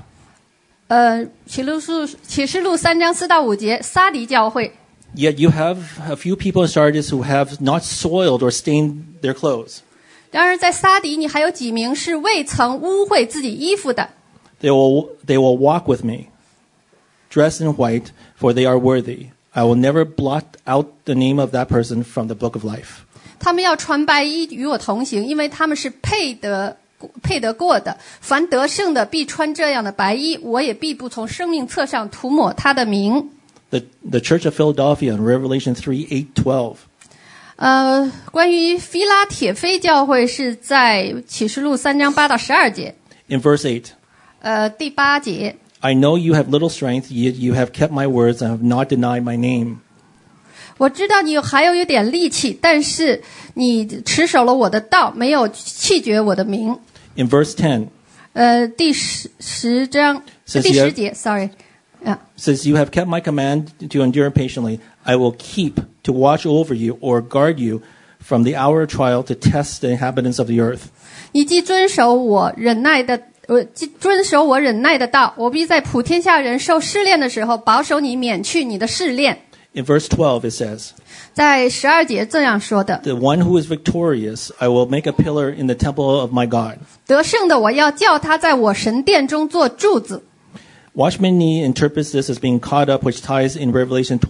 启示录3章4到5节，撒狄教会。 Yet you have a few people in Sardis who have not soiled or stained their clothes. 然而在撒狄，你还有几名是未曾污秽自己衣服的。 They will walk with me, dressed in white, for they are worthy. I will never blot out the name of that person from the book of life. 他们要穿白衣与我同行，因为他们是配得过的。凡得胜的必穿这样的白衣，我也必不从生命册上涂抹他的名。 The Church of Philadelphia in Revelation 3:8-12. 关于腓拉铁非教会是在启示录3章8到12节。 In verse 8. 第8节。 I know you have little strength, yet you have kept my words and have not denied my name. 我知道你还有点力气，但是你持守了我的道，没有弃绝我的名。 In verse 10. 第10章第10节 ，sorry. Says you have kept my command to endure patiently. I will keep to watch over you or guard you from the hour of trial to test the inhabitants of the earth. 你既遵守我忍耐的道，我必在普天下人受试炼的时候，保守你免去你的试炼。 In verse 12 it says, 在12节这样说的 The one who is victorious, I will make a pillar in the temple of my God. 得胜的我要叫他在我神殿中做柱子。 Watchman Nee interprets this as being caught up, which ties in Revelation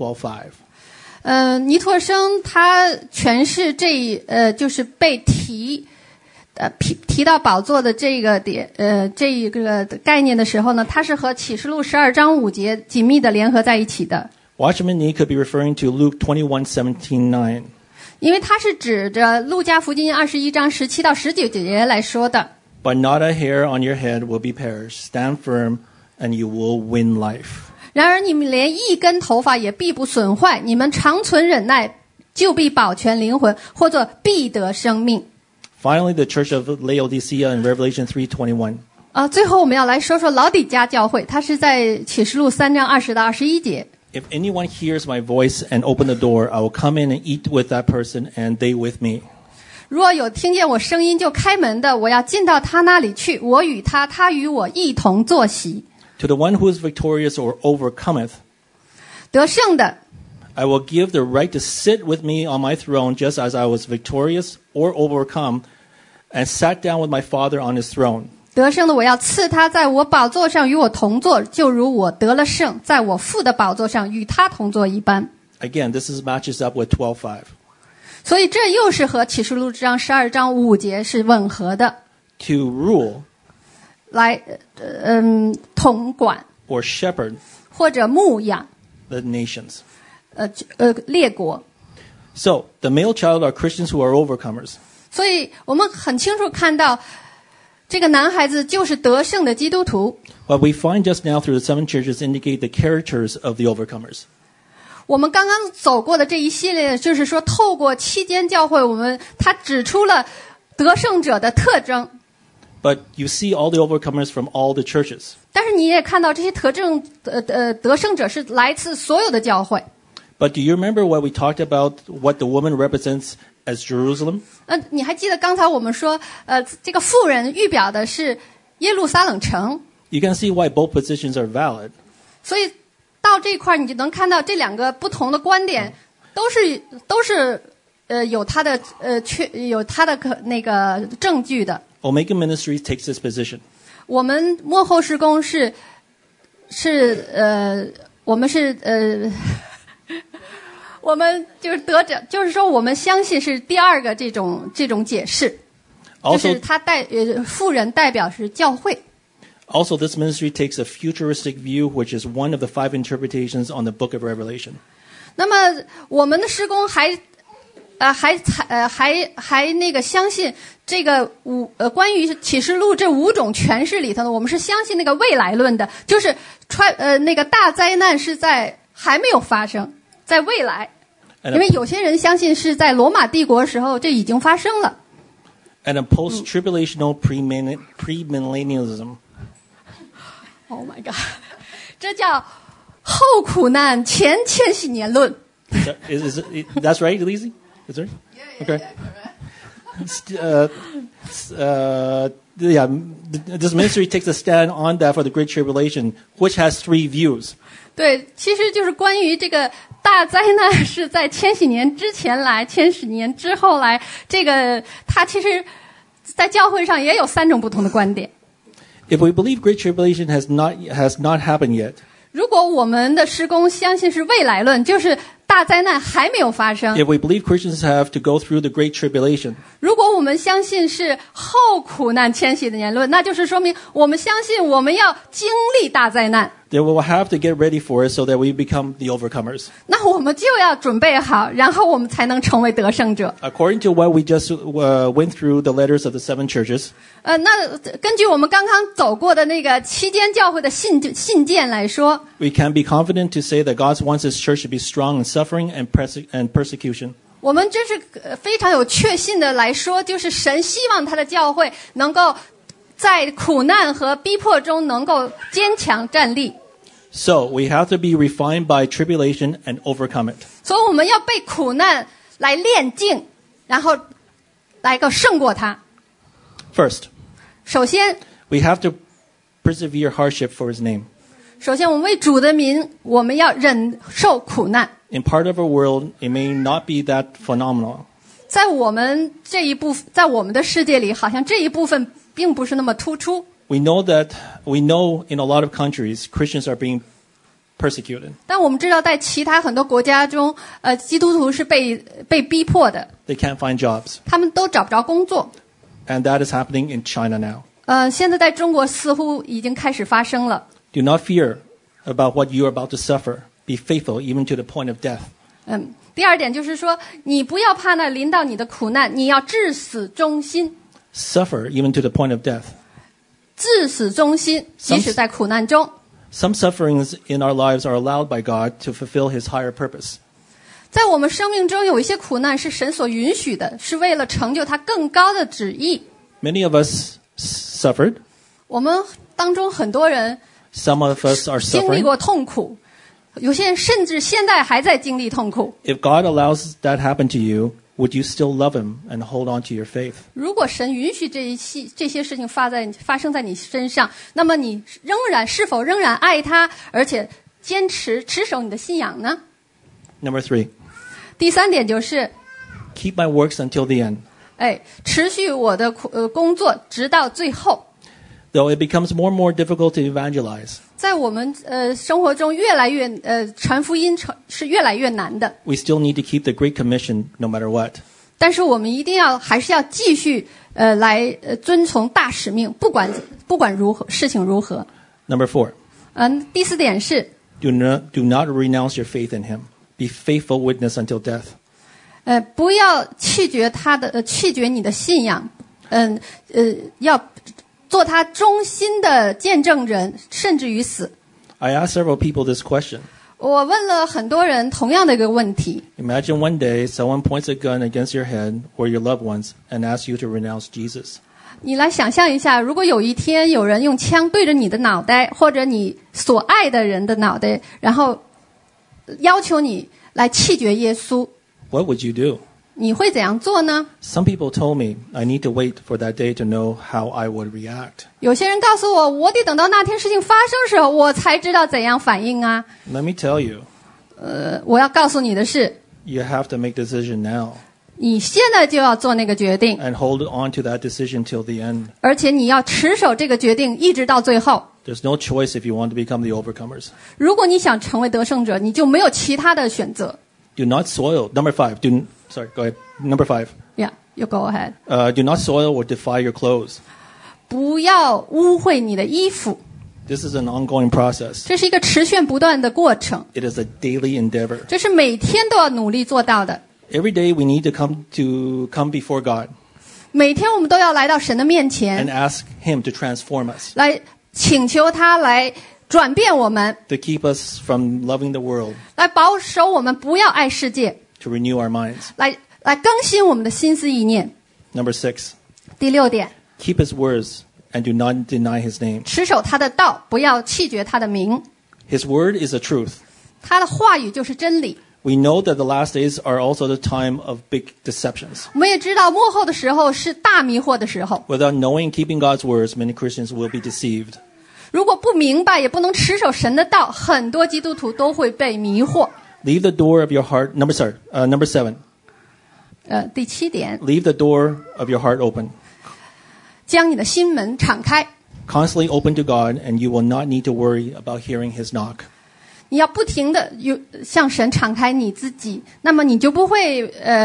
12:5. 尼托生他诠释就是被提到宝座的这个点，这一个概念的时候呢，它是和启示录12章5节紧密的联合在一起的。 Watchman Nee could be referring to Luke 21:17-9. 因为它是指着路加福音21章17到19节来说的。 But not a hair on your head will be perished. Stand firm, and you will win life. 然而你们连一根头发也必不损坏，你们长存忍耐，就必保全灵魂，或者必得生命。 Finally, the Church of Laodicea in Revelation 3:21. 最后我们要来说说老底嘉教会，它是在启示录3章20到21节。 If anyone hears my voice and open the door, I will come in and eat with that person, and they with me. 若有听见我声音就开门的，我要进到他那里去，我与他，他与我一同坐席。 To the one who is victorious or overcometh, 得胜的 I will give the right to sit with me on my throne, just as I was victorious or overcome, and sat down with my Father on his throne. 得胜的我要赐他在我宝座上与我同坐，就如我得了胜，在我父的宝座上与他同坐一般。 Again, this matches up with 12:5. 所以这又是和启示录章12章5节是吻合的。 To rule 来统管 or shepherd 或者牧养 the nations. 列国。 So, the male child are Christians who are overcomers. 所以我们很清楚看到这个男孩子就是得胜的基督徒。 What we find just now through the 7 churches indicate the characters of the overcomers. 我们刚刚走过的这一系列，就是说透过7间教会，他指出了得胜者的特征。 But you see all the overcomers from all the churches. 但是你也看到这些得胜者是来自所有的教会。 But do you remember what we talked about, what the woman represents as Jerusalem? 你还记得刚才我们说，这个妇人预表的是耶路撒冷城。 You can see why both positions are valid. 所以到这块你就能看到这两个不同的观点都是有它的那个证据的。 Omega Ministries takes this position. 我们幕后事工我们就是得着，就是说我们相信是第二个这种解释，就是他妇人代表是教会。 Also, this ministry takes a futuristic view, which is one of the 5 interpretations on the book of Revelation. 那么我们的事工还那个相信这个关于启示录这5种诠释里头呢，我们是相信那个未来论的，就是那个大灾难是在还没有发生，在未来。因为有些人相信是在罗马帝国时候这已经发生了。 And a post-tribulational premillennialism. Oh my God， 这叫后苦难前千禧年论。 That's right, Elise? That's right? Okay. This ministry takes a stand on that for the Great Tribulation, which has 3 views. 对，其实就是关于这个大灾难是在千禧年之前来，千禧年之后来，这个它其实在教会上也有3种不同的观点。 If we believe Great Tribulation has not happened yet, 如果我们的施工相信是未来论，就是大灾难还没有发生。 If we believe Christians have to go through the Great Tribulation, 如果我们相信是后苦难迁徙的言论，那就是说明我们相信我们要经历大灾难， then we will have to get ready for it so that we become the overcomers. 那我们就要准备好，然后我们才能成为得胜者。 According to what we just went through the letters of the 7 churches, 那根据我们刚刚走过的那个期间教会的信件来说， we can be confident to say that God wants His church to be strong in suffering and persecution. 我们这是非常有确信的来说，就是神希望他的教会能够在苦难和逼迫中能够坚强站立。 So we have to be refined by tribulation and overcome it. 所以我们要被苦难来炼净，然后来个胜过它。 First, 首先， we have to persevere hardship for His name. 我们为主的名，我们要忍受苦难。 In part of our world, it may not be that phenomenal. 在我们这一部，在我们的世界里，好像这一部分并不是那么突出。 We know in a lot of countries, Christians are being persecuted. 但我们知道，在其他很多国家中，基督徒是被逼迫的， They can't find jobs. 他们都找不着工作。 And that is happening in China now. 现在在中国似乎已经开始发生了。 Do not fear about what you are about to suffer. Be faithful even to the point of death. 第二点就是说，你不要怕那临到你的苦难，你要至死忠心。 Suffer even to the point of death. 至死忠心，即使在苦难中。 Some sufferings in our lives are allowed by God to fulfill His higher purpose. 在我们生命中有一些苦难是神所允许的，是为了成就他更高的旨意。 Many of us suffered. 我们当中很多人 Some of us are 经历 suffering. 过痛苦，有些人甚至现在还在经历痛苦。 If God allows that happen to you, would you still love Him and hold on to your faith? 如果神允许这些事情发生在你身上，那么你是否仍然爱他，而且持守你的信仰呢？ Number 3, 第三点就是， keep my works until the end. 持续我的工作直到最后。 Though it becomes more and more difficult to evangelize, 在我们生活中越来越传福音是越来越难的， we still need to keep the Great Commission no matter what. 但是我们还是要继续来遵从大使命，不管如何事情如何。 Number 4, 第四点是， do not renounce your faith in Him. Be faithful witness until death. 不要弃绝你的信仰，要做他忠心的见证人，甚至于死。 I asked several people this question. 我问了很多人同样的一个问题。 Imagine one day someone points a gun against your head or your loved ones and asks you to renounce Jesus. 你来想象一下，如果有一天有人用枪对着你的脑袋，或者你所爱的人的脑袋，然后要求你来弃绝耶稣， What would you do? 你会怎样做呢？ Some people told me I need to wait for that day to know how I would react. 有些人告诉我，我得等到那天事情发生时候，我才知道怎样反应啊。 Let me tell you, 我要告诉你的是， you have to make a decision now 你现在就要做那个决定， and hold on to that decision till the end. 而且你要持守这个决定一直到最后。 There's no choice if you want to become the overcomers. 如果你想成为得胜者，你就没有其他的选择。 Do not soil. Number 5. Go ahead. Number 5. Yeah, you go ahead. Do not soil or defile your clothes. 不要污秽你的衣服， This is an ongoing process. 这是一个持续不断的过程， It is a daily endeavor. 这是每天都要努力做到的。 Every day we need to come before God 每天我们都要来到神的面 and 前， ask Him to transform us, 来请求他来转变我们， to keep us from loving the world, 来保守我们不要爱世界， to renew our minds. 来更新我们的心思意念。 Number 6. 第6点， Keep His words and do not deny His name. 持守他的道，不要弃绝他的名。 His word is the truth. 他的话语就是真理。 We know that the last days are also the time of big deceptions. 我们也知道末后的时候是大迷惑的时候。 Without knowing and keeping God's words, many Christians will be deceived. 如果不明白，也不能持守神的道，很多基督徒都会被迷惑。 Leave the door of your heart. Number 7. 第7点， Leave the door of your heart open. 将你的心门敞开， Constantly open to God, and you will not need to worry about hearing His knock. 你要不停的向神敞开你自己，那么你就不会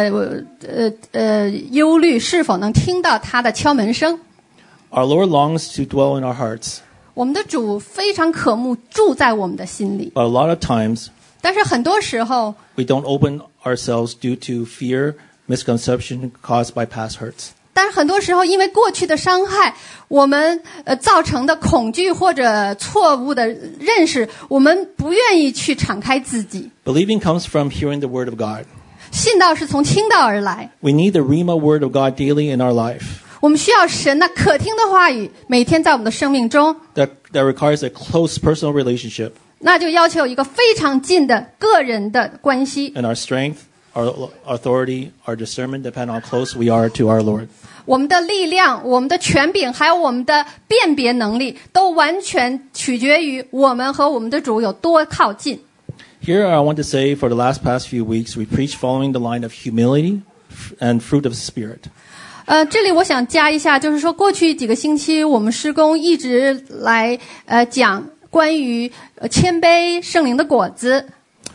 忧虑是否能听到他的敲门声。 Our Lord longs to dwell in our hearts. 我们的主非常渴慕住在我们的心里， But a lot of times, 但是很多时候 we don't open ourselves due to fear, misconception caused by past hurts. 但是很多时候因为过去的伤害，我们造成的恐惧或者错误的认识，我们不愿意去敞开自己。 Believing comes from hearing the word of God. 信道是从听道而来， We need the Rhema word of God daily in our life. 我们需要神那可听的话语每天在我们的生命中， That requires a close personal relationship. 那就要求一个非常近的个人的关系。 And our strength, our authority, our discernment depend on how close we are to our Lord. 我们的力量、我们的权柄，还有我们的辨别能力，都完全取决于我们和我们的主有多靠近。 Here I want to say for the past few weeks, we preach following the line of humility and fruit of the Spirit. 这里我想加一下，就是说过去几个星期我们施工一直来讲关于谦卑圣灵的果子，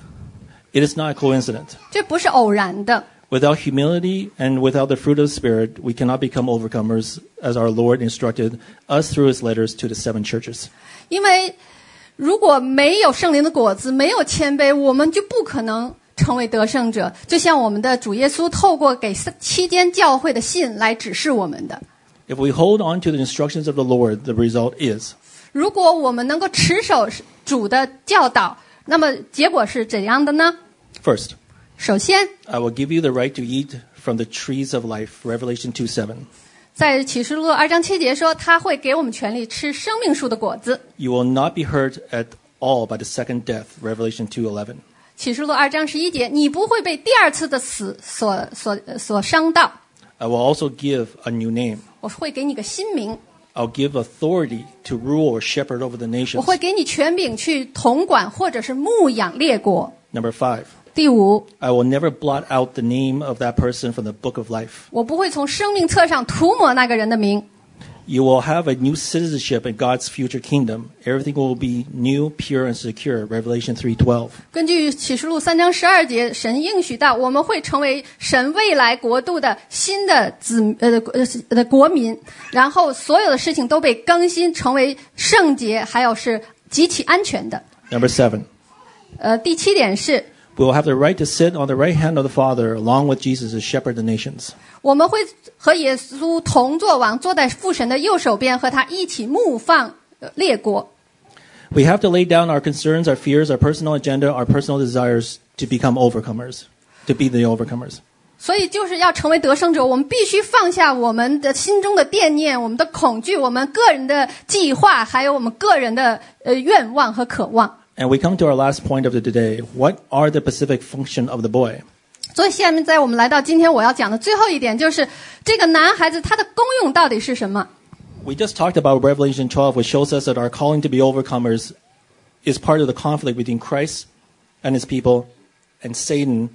It is not a coincidence. 这不是偶然的。 Without humility and without the fruit of the Spirit, we cannot become overcomers as our Lord instructed us through his letters to the 7 churches. 因为如果没有圣灵的果子，没有谦卑，我们就不可能成为得胜者。就像我们的主耶稣透过给7间教会的信来指示我们的。 If we hold on to the instructions of the Lord, the result is 如果我们能够持守主的教导，那么结果是怎样的呢？ first, 首先， I will give you the right to eat from the trees of life, Revelation 2:7. 在启示录2章7节说，他会给我们权利吃生命树的果子。 You will not be hurt at all by the second death, Revelation 2:11. 启示录2章11节，你不会被第二次的死所伤到。 I will also give a new name. 我会给你个新名， I'll give authority to rule or shepherd over the 我 nations. 会给你权柄去统管或者是牧养列国。 Number 5, 第5， I will never blot out the name of that person from the book of life. 我不会从生命册上涂抹那个人的名。 You will have a new citizenship in God's future kingdom. Everything will be new, pure, and secure, Revelation 3:12. 根据启示录3章12节，神应许到我们会成为神未来国度的新的国民，然后所有的事情都被更新，成为圣洁，还有是极其安全的。 Number 7, 第7点是， we will have the right to sit on the right hand of the Father along with Jesus to shepherd the nations. 我们会和耶稣同坐王，坐在父神的右手边，和他一起牧放列国。 We have to lay down our concerns, our fears, our personal agenda, our personal desires to become overcomers, to be the overcomers. 所以就是要成为得胜者，我们必须放下我们的心中的惦念、我们的恐惧、我们个人的计划，还有我们个人的愿望和渴望。 And we come to our last point of today. What are the specific function of the boy? 所以下面在我们来到今天我要讲的最后一点，就是这个男孩子他的功用到底是什么？ We just talked about Revelation 12, which shows us that our calling to be overcomers is part of the conflict between Christ and his people and Satan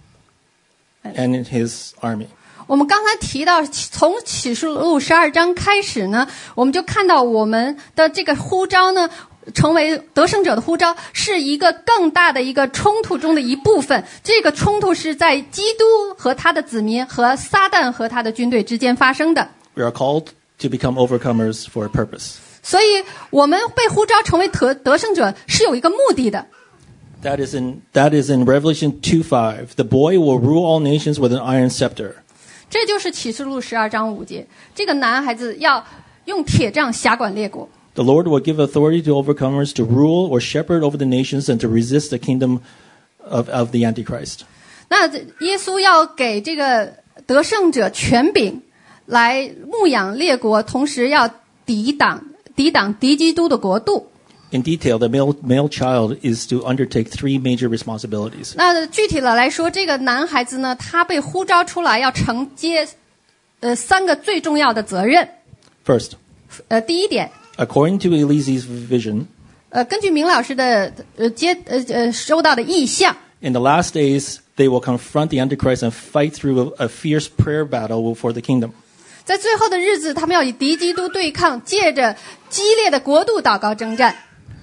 and his army. 我们刚才提到，从启示录12章开始呢，我们就看到我们的这个呼召呢，成为得胜者的呼召，是一个更大的一个冲突中的一部分。这个冲突是在基督和他的子民和撒旦和他的军队之间发生的。 We are called to become overcomers for a purpose. 所以我们被呼召成为得胜者是有一个目的的。 That is in Revelation 2:5. The boy will rule all nations with an iron scepter. 这就是启示录12章5节，这个男孩子要用铁杖辖管列国。 The Lord will give authority to overcomers to rule or shepherd over the nations and to resist the kingdom of the Antichrist. 那耶稣要给这个得胜者权柄，来牧养列国，同时要抵挡敌基督的国度。 In detail, the male child is to undertake 3 major responsibilities. 那具体的来说，这个男孩子呢，他被呼召出来要承接3个最重要的责任。 First, 第一点， according to Elise's vision, 根据明老师的收到的意象， in the last days, they will confront the Antichrist and fight through a fierce prayer battle for the kingdom. 在最后的日子，他们要与敌基督对抗，借着激烈的国度祷告征战。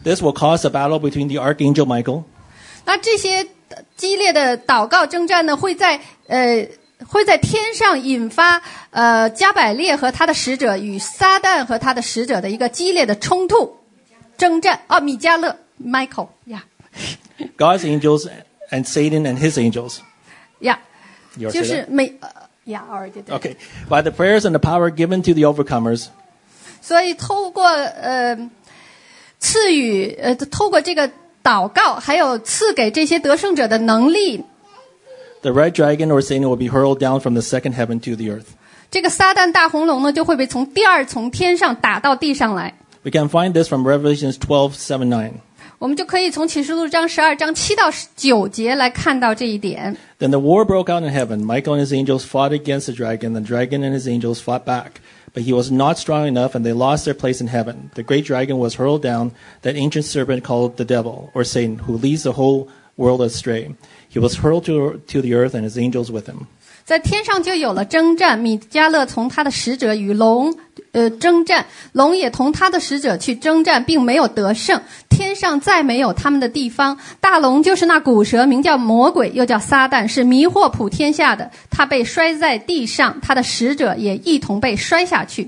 This will cause a battle between the archangel Michael 那这些激烈的祷告征战呢，会在天上引发加百列和他的使者与撒旦和他的使者的一个激烈的冲突征战。米迦勒 Michael 呀、 God's angels and Satan and his angels. 呀、 You already 就 said 是 that? already did. Okay. By the prayers and the power given to the overcomers, 所以透过赐予透过这个祷告，还有赐给这些得胜者的能力， the red dragon or Satan will be hurled down from the second heaven to the earth. 这个撒旦大红龙呢，就会被从第二从天上打到地上来。 We can find this from Revelations 12:7-9. 我们就可以从启示录章12章7到9节来看到这一点。 Then the war broke out in heaven. Michael and his angels fought against the dragon. The dragon and his angels fought back. But he was not strong enough, and they lost their place in heaven. The great dragon was hurled down, that ancient serpent called the devil, or Satan, who leads the whole world astray. He was hurled to the earth, and his angels with him. 在天上就有了征战，米迦勒从他的使者与龙征战，龙也同他的使者去征战，并没有得胜。天上再没有他们的地方。大龙就是那古蛇，名叫魔鬼，又叫撒旦，是迷惑普天下的。他被摔在地上，他的使者也一同被摔下去。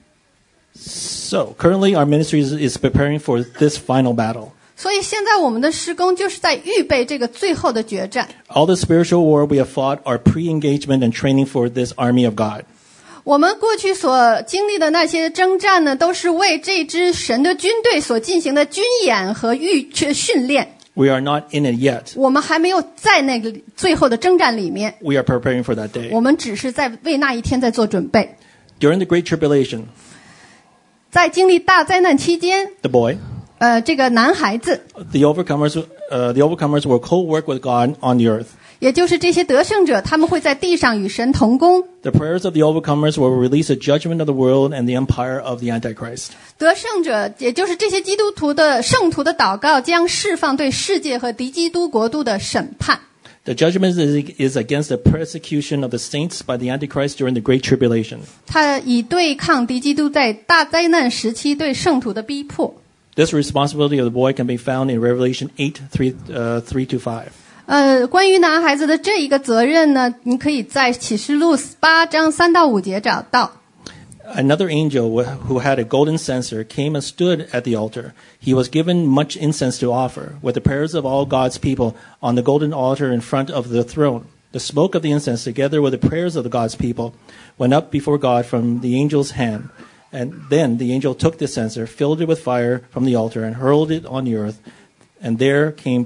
So, currently our ministry is preparing for this final battle. 所以现在我们的施工就是在预备这个最后的决战。 All the spiritual war we have fought are pre-engagement and training for this army of God. 我们过去所经历的那些征战呢，都是为这支神的军队所进行的军演和训练。 We are not in it yet. 我们还没有在那个最后的征战里面， We are preparing for that day. 我们只是在为那一天在做准备。 During the Great Tribulation, 在经历大灾难期间， the boy, 这个男孩子， the overcomers will co-work with God on the earth. 也就是这些得胜者，他们会在地上与神同工。 The prayers of the overcomers will release a judgment of the world and the empire of the Antichrist. 得胜者，也就是这些基督徒的圣徒的祷告，将释放对世界和敌基督国度的审判。 The judgment is against the persecution of the saints by the Antichrist during the Great Tribulation. 他以对抗敌基督在大灾难时期对圣徒的逼迫。 This responsibility of the boy can be found in Revelation 8:3-5. 关于男孩子的这一个责任呢，你可以在启示录8章3到5节找到。 Another angel who had a golden censer came and stood at the altar. He was given much incense to offer, with the prayers of all God's people on the golden altar in front of the throne. The smoke of the incense, together with the prayers of the God's people, went up before God from the angel's hand. And then the angel took the censer, filled it with fire from the altar, and hurled it on the earth. And there came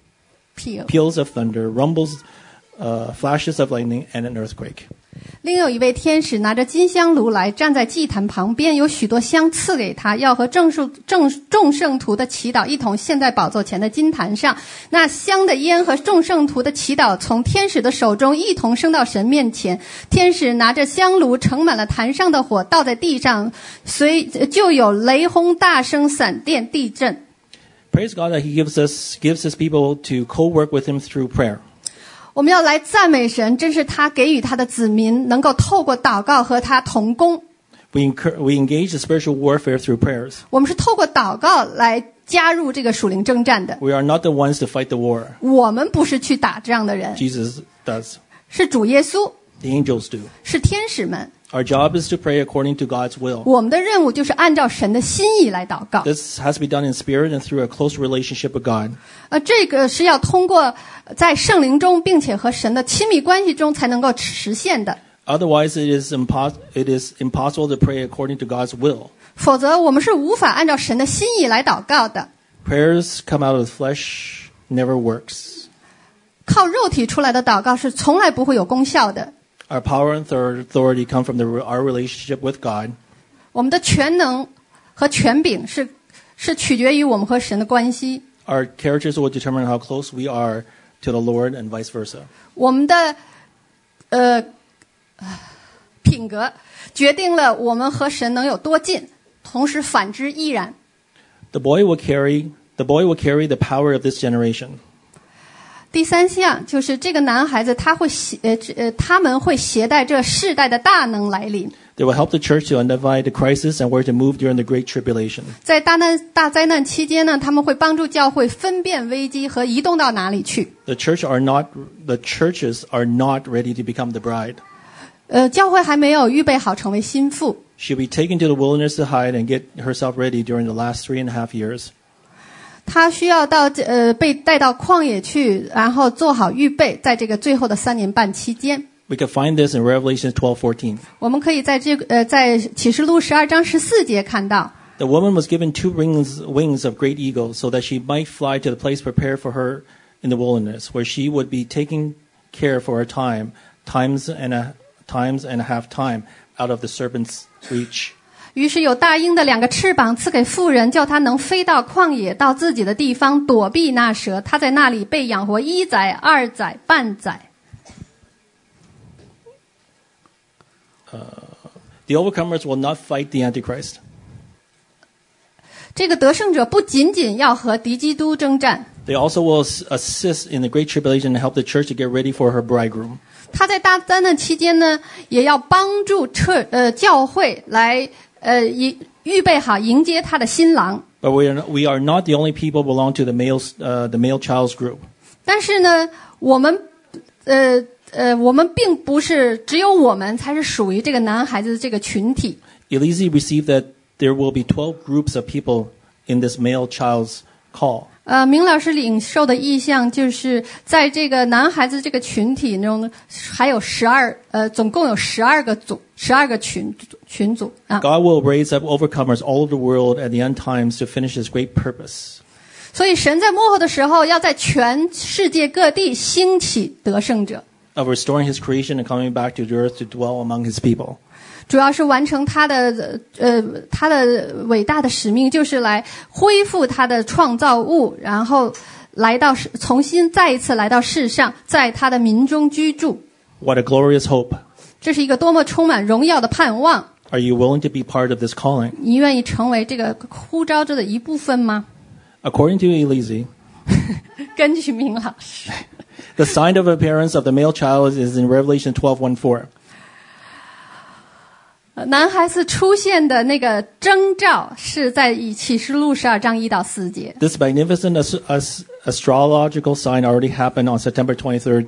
peals of thunder, rumbles, flashes of lightning, and an earthquake. 另有一位天使拿着金香炉来，站在祭坛旁边，有许多香赐给他，要和众圣徒的祈祷一同献在宝座前的金坛上。那香的烟和众圣徒的祈祷从天使的手中一同升到神面前。天使拿着香炉盛满了坛上的火，倒在地上，就有雷轰、大声、闪电、地震。 Praise God that He gives His people to co-work with Him through prayer. 我们要来赞美神，真是他给予他的子民能够透过祷告和他同工。 We engage the spiritual warfare through prayers. 我们是透过祷告来加入这个属灵征战的。 We are not the ones to fight the war. 我们不是去打这样的人， Jesus does. 是主耶稣， The angels do. 是天使们。 Our job is to pray according to God's will. 我们的任务就是按照神的心意来祷告。 This has to be done in spirit and through a close relationship with God. 这个是要通过在圣灵中，并且和神的亲密关系中才能够实现的。 Otherwise, it is impossible to pray according to God's will. 否则，我们是无法按照神的心意来祷告的。 Prayers come out of the flesh never works. 靠肉体出来的祷告是从来不会有功效的。 Our power and authority come from our relationship with God. 我们的全能和权柄是取决于我们和神的关系。 Our characters will determine how close we are to the Lord and vice versa. 我们的品格决定了我们和神能有多近，同时反之亦然。 The boy will carry the power of this generation. 第三项就是这个男孩子他们会携带这世代的大能来临。 They will help the church to identify the crisis and where to move during the Great Tribulation. 在大灾难期间呢，他们会帮助教会分辨危机和移动到哪里去。 The churches are not ready to become the bride. 教会还没有预备好成为心腹。 She'll be taken to the wilderness to hide and get herself ready during the last 3.5 years. 他需要被带到旷野去，然后做好预备，在这个最后的3年半期间。 We can find this in Revelation 12:14. 我们可以在在启示录12章14节看到。 The woman was given 2 wings of great eagles so that she might fly to the place prepared for her in the wilderness, where she would be taken care for a times and a half time out of the serpent's reach. 于是有大鹰的2个翅膀赐给妇人，叫她能飞到曠野，到自己的地方躲避那蛇。她在那里被养活1载、2载、半载。 The overcomers will not fight the Antichrist. 这个得胜者不仅仅要和敌基督征战， They also will assist in the Great Tribulation and help the church to get ready for her bridegroom. 他在大灾难期间呢，也要帮助教会来预备好迎接他的新郎。 But we are not the only people belong to the male child's group. 但是呢，我们并不是只有我们才是属于这个男孩子的这个群体。 Elise received that there will be 12 groups of people in this male child's call. 明老师领受的意象就是在这个男孩子这个群体中，还有总共有12个群组啊。 God will raise up overcomers all over the world at the end times to finish His great purpose. 所以神在末后的时候，要在全世界各地兴起得胜者。 Of restoring His creation and coming back to the earth to dwell among His people. 主要是完成他的伟大的使命，就是来恢复他的创造物，然后重新再一次来到世上，在他的民中居住。 What a glorious hope. 这是一个多么充满荣耀的盼望。 Are you willing to be part of this calling? 你愿意成为这个呼召者的一部分吗？ According to Elise, 根据明老师， the sign of appearance of the male child is in Revelation 12:14. 男孩子出现的那个征兆是在启示录12章1到4节。 This magnificent astrological sign already happened on September 23rd,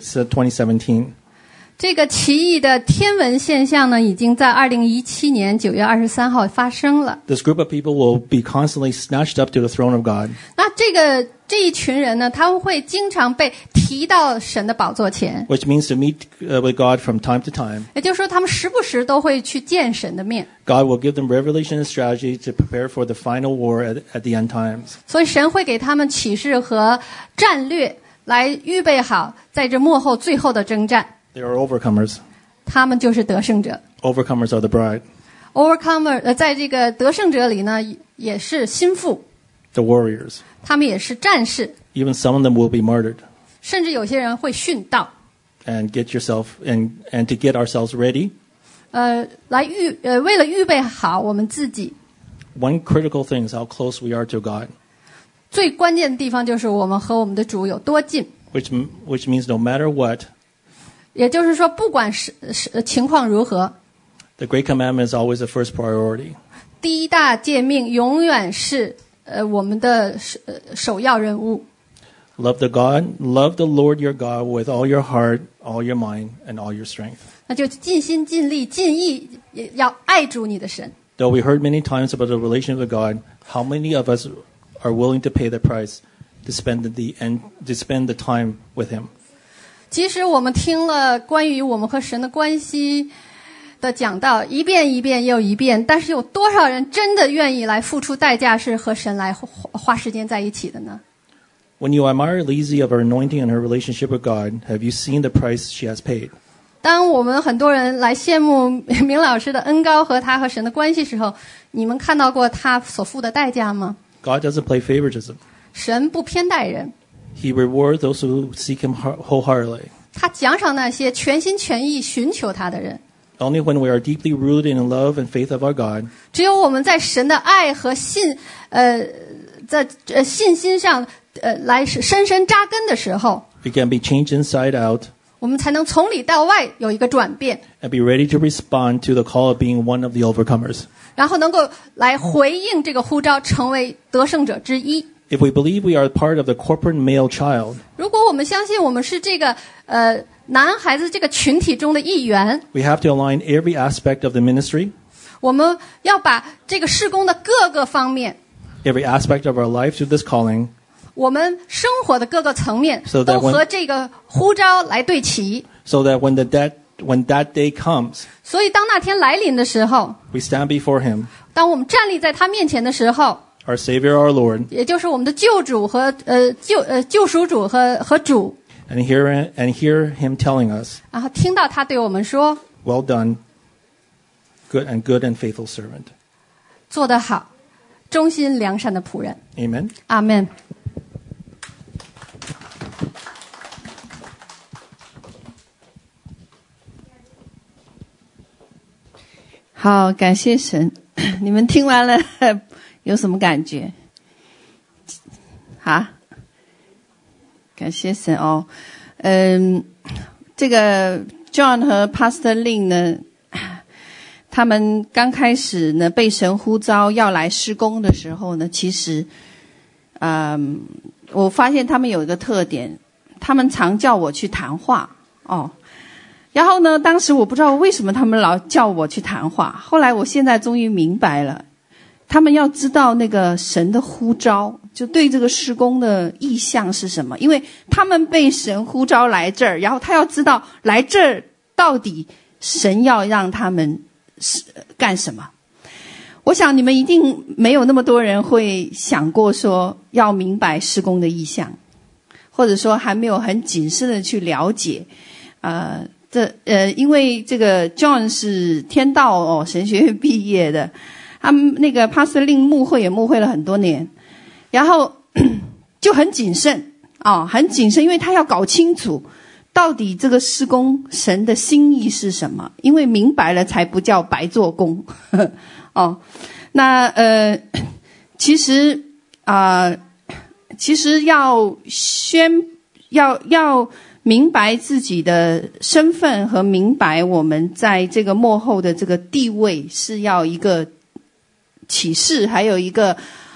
2017. 这个奇异的天文现象呢，已经在2017年9月23号发生了。 This group of people will be constantly snatched up to the throne of God. 那这一群人呢，他们会经常被提到神的宝座前， Which means to meet with God from time to time. 也就是说，他们时不时都会去见神的面。 God will give them revelation and strategy to prepare for the final war at the end times. 所以神会给他们启示和战略，来预备好在这末后最后的征战。 They are overcomers. 他们就是得胜者。 Overcomers are the bride. Overcomer 在这个得胜者里呢，也是心腹， The warriors. 他们也是战士， Even some of them will be martyred. 甚至有些人会殉道。 And get yourself and to get ourselves ready. 为了预备好我们自己， One critical thing is how close we are to God. 最关键的地方就是我们和我们的主有多近。 Which means no matter what, 也就是说，不管情况如何， the Great Commandment is always the first priority. 第一大诫命永远是我们的首要任务。 Love the Lord your God with all your heart, all your mind, and all your strength. 那就尽心尽力尽意，也要爱主你的神。 Though we heard many times about the relation with God, how many of us are willing to pay the price to spend the time with Him? 即使我们听了关于我们和神的关系的讲道一遍一遍又一遍，但是有多少人真的愿意来付出代价，是和神来花时间在一起的呢？ When you admire Lizzie of her anointing and her relationship with God, have you seen the price she has paid? 当我们很多人来羡慕明老师的恩膏和他和神的关系时候，你们看到过他所付的代价吗？ God doesn't play favoritism. 神不偏待人， He rewards those who seek Him wholeheartedly. 他奖赏那些全心全意寻求他的人。 Only when we are deeply rooted in the love and faith of our God, 只有我们在神的爱和在信心上来深深扎根的时候， we can be changed inside out 我们才能从里到外有一个转变， and be ready to respond to the call of being one of the overcomers. 然后能够来回应这个呼召，成为得胜者之一。 If we believe we are part of the corporate male child, 如果我们相信我们是这个男孩子这个群体中的一员， we have to align every aspect of the ministry, 我们要把这个事工的各个方面， every aspect of our life to this calling, 我们生活的各个层面 So that 都 when- 和这个呼召来对齐。 so that when that day comes, 所以当那天来临的时候， we stand before him, 当我们站立在他面前的时候， our Savior, our Lord, 也就是我们的救主和救赎主和主， and hear him telling us, 然后听到他对我们说 "Well done, good and faithful servant." 做得好，忠心良善的仆人。 Amen. 阿们。 好，感谢神。你们听完了有什么感觉？啊？感谢神哦。这个 John 和 Pastor Lin 呢，他们刚开始呢被神呼召要来施工的时候呢，其实，我发现他们有一个特点，他们常叫我去谈话哦。然后呢，当时我不知道为什么他们老叫我去谈话，后来我现在终于明白了，他们要知道那个神的呼召，就对这个施工的意向是什么，因为他们被神呼召来这儿，然后他要知道来这儿到底神要让他们干什么。我想你们一定没有那么多人会想过说要明白施工的意向，或者说还没有很谨慎的去了解因为这个 John 是天道神学院毕业的，他们那个 Pastor Lin 牧会也牧会了很多年，然后就很谨慎很谨慎，因为他要搞清楚到底这个施工神的心意是什么，因为明白了才不叫白做工那其实要明白自己的身份和明白我们在这个幕后的这个地位，是要一个启示，还有一个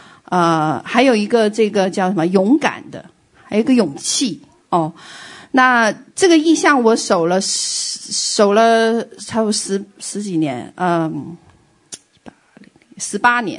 这个叫什么勇敢的，还有一个勇气那这个意向我守了差不多十几年，18年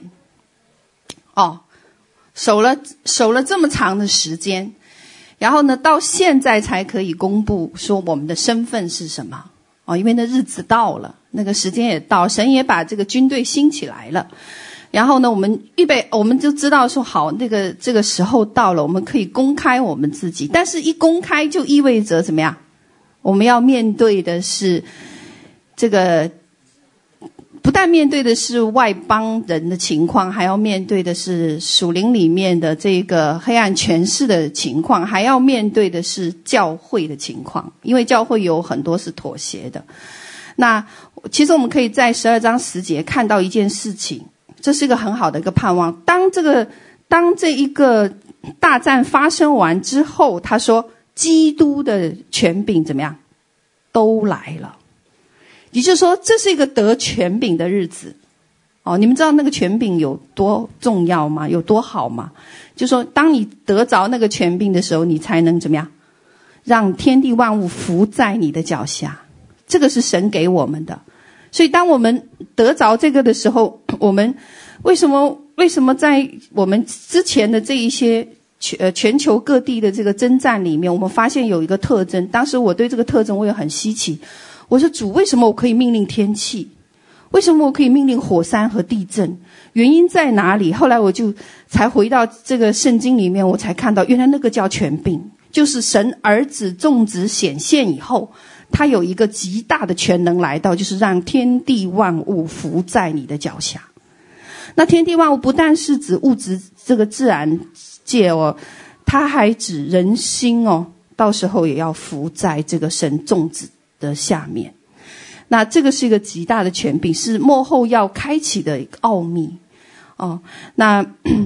守了这么长的时间。然后呢，到现在才可以公布说我们的身份是什么因为那日子到了，那个时间也到，神也把这个军队兴起来了。然后呢，我们就知道说好，这个时候到了，我们可以公开我们自己。但是一公开就意味着怎么样？我们要面对的是这个，不但面对的是外邦人的情况，还要面对的是属灵里面的这个黑暗权势的情况，还要面对的是教会的情况，因为教会有很多是妥协的。那其实我们可以在12章10节看到一件事情，这是一个很好的一个盼望。当这一个大战发生完之后，他说基督的权柄怎么样？都来了。也就是说，这是一个得权柄的日子你们知道那个权柄有多重要吗？有多好吗？就是说当你得着那个权柄的时候，你才能怎么样？让天地万物伏在你的脚下。这个是神给我们的。所以当我们得着这个的时候，我们为什么在我们之前的这一些全球各地的这个征战里面，我们发现有一个特征。当时我对这个特征我也很稀奇，我说主，为什么我可以命令天气？为什么我可以命令火山和地震？原因在哪里？后来我就才回到这个圣经里面，我才看到原来那个叫权柄，就是神儿子众子显现以后，他有一个极大的全能来到，就是让天地万物伏在你的脚下。那天地万物不但是指物质这个自然界它还指人心到时候也要伏在这个神众子的下面。那这个是一个极大的权柄，是末后要开启的一个奥秘那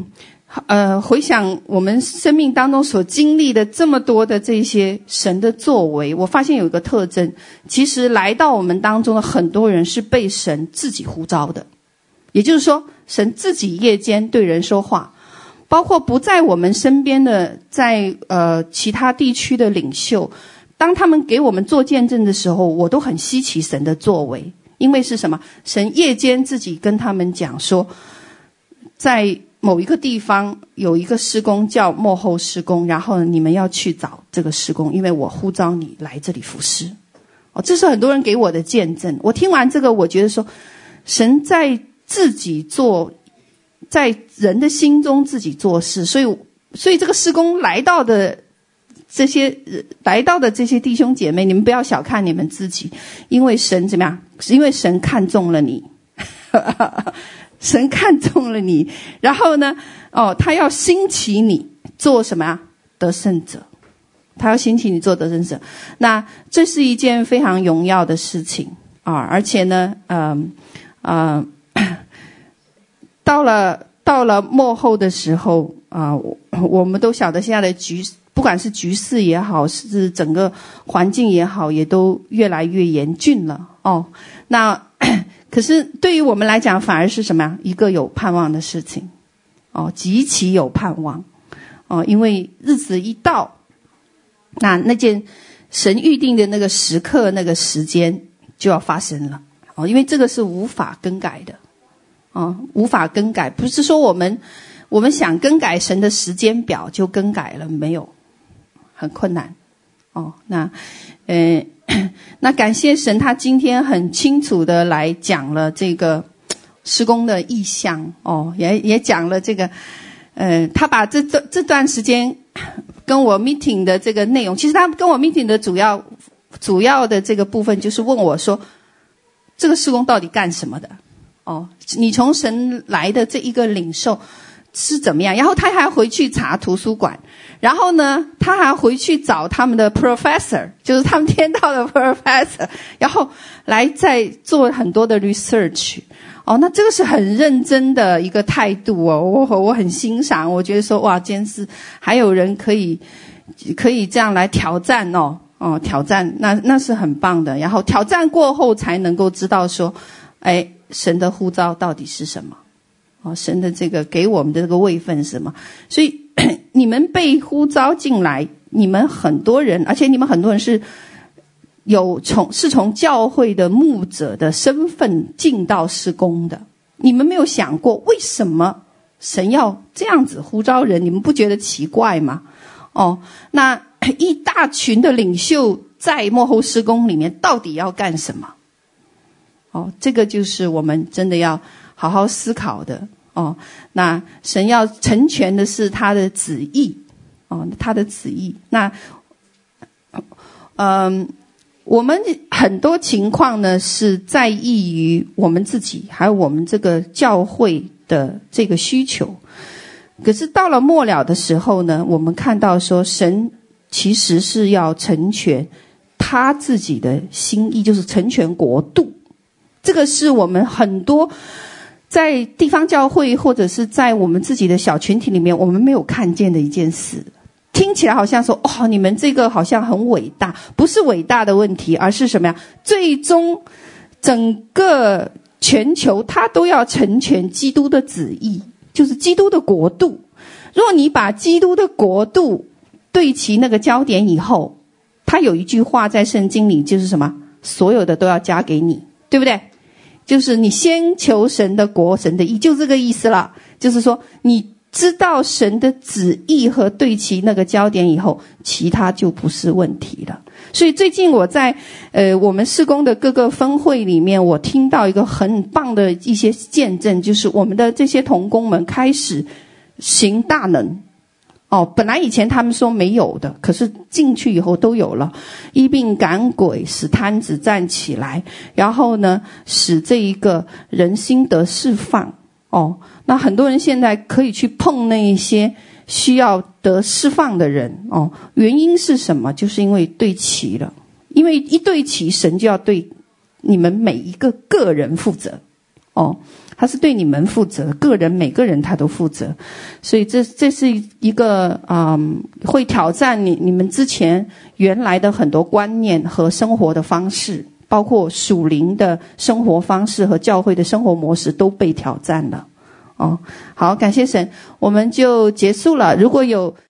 回想我们生命当中所经历的这么多的这些神的作为，我发现有一个特征，其实来到我们当中的很多人是被神自己呼召的，也就是说神自己夜间对人说话，包括不在我们身边的在其他地区的领袖，当他们给我们做见证的时候，我都很稀奇神的作为。因为是什么？神夜间自己跟他们讲说，在某一个地方有一个施工叫末后施工，然后你们要去找这个施工，因为我呼召你来这里服侍。这是很多人给我的见证。我听完这个，我觉得说神在自己做，在人的心中自己做事，所以这个施工来到的这些弟兄姐妹，你们不要小看你们自己，因为神怎么样？因为神看中了你神看中了你，然后呢他要兴起你做什么呀？得胜者。他要兴起你做得胜者。那这是一件非常荣耀的事情而且呢到了末后的时候我们都晓得现在的不管是局势也好，是整个环境也好，也都越来越严峻了那可是对于我们来讲，反而是什么呀？一个有盼望的事情极其有盼望因为日子一到，那件神预定的那个时刻那个时间就要发生了因为这个是无法更改的无法更改，不是说我们想更改神的时间表就更改了，没有，很困难那感谢神，他今天很清楚的来讲了这个施工的意向也讲了这个他把这段时间跟我 meeting 的这个内容，其实他跟我 meeting 的主要的这个部分就是问我说，这个施工到底干什么的你从神来的这一个领受是怎么样？然后他还回去查图书馆，然后呢他还回去找他们的 professor， 就是他们天道的 professor， 然后来再做很多的 research那这个是很认真的一个态度我很欣赏。我觉得说哇，今天是还有人可以这样来挑战挑战，那是很棒的。然后挑战过后才能够知道说神的呼召到底是什么神的这个给我们的这个位分是什么。所以你们被呼召进来，你们很多人，而且你们很多人是从教会的牧者的身份进到事工的。你们没有想过为什么神要这样子呼召人？你们不觉得奇怪吗？那一大群的领袖在末后事工里面到底要干什么？这个就是我们真的要好好思考的那神要成全的是他的旨意他的旨意。那我们很多情况呢是在意于我们自己还有我们这个教会的这个需求，可是到了末了的时候呢，我们看到说神其实是要成全他自己的心意，就是成全国度。这个是我们很多在地方教会或者是在我们自己的小群体里面我们没有看见的一件事。听起来好像说你们这个好像很伟大，不是伟大的问题，而是什么呀？最终整个全球它都要成全基督的旨意，就是基督的国度。如果你把基督的国度对齐那个焦点以后，他有一句话在圣经里就是什么？所有的都要加给你，对不对？就是你先求神的国神的义，就这个意思了。就是说你知道神的旨意和对齐那个焦点以后，其他就不是问题了。所以最近我在我们事工的各个分会里面，我听到一个很棒的一些见证，就是我们的这些同工们开始行大能本来以前他们说没有的，可是进去以后都有了。医病赶鬼，使瘫子站起来，然后呢使这一个人心得释放那很多人现在可以去碰那一些需要得释放的人原因是什么？就是因为对齐了。因为一对齐，神就要对你们每一个个人负责他是对你们负责，个人每个人他都负责，所以这是一个会挑战你们之前原来的很多观念和生活的方式，包括属灵的生活方式和教会的生活模式都被挑战了。好，感谢神，我们就结束了。如果有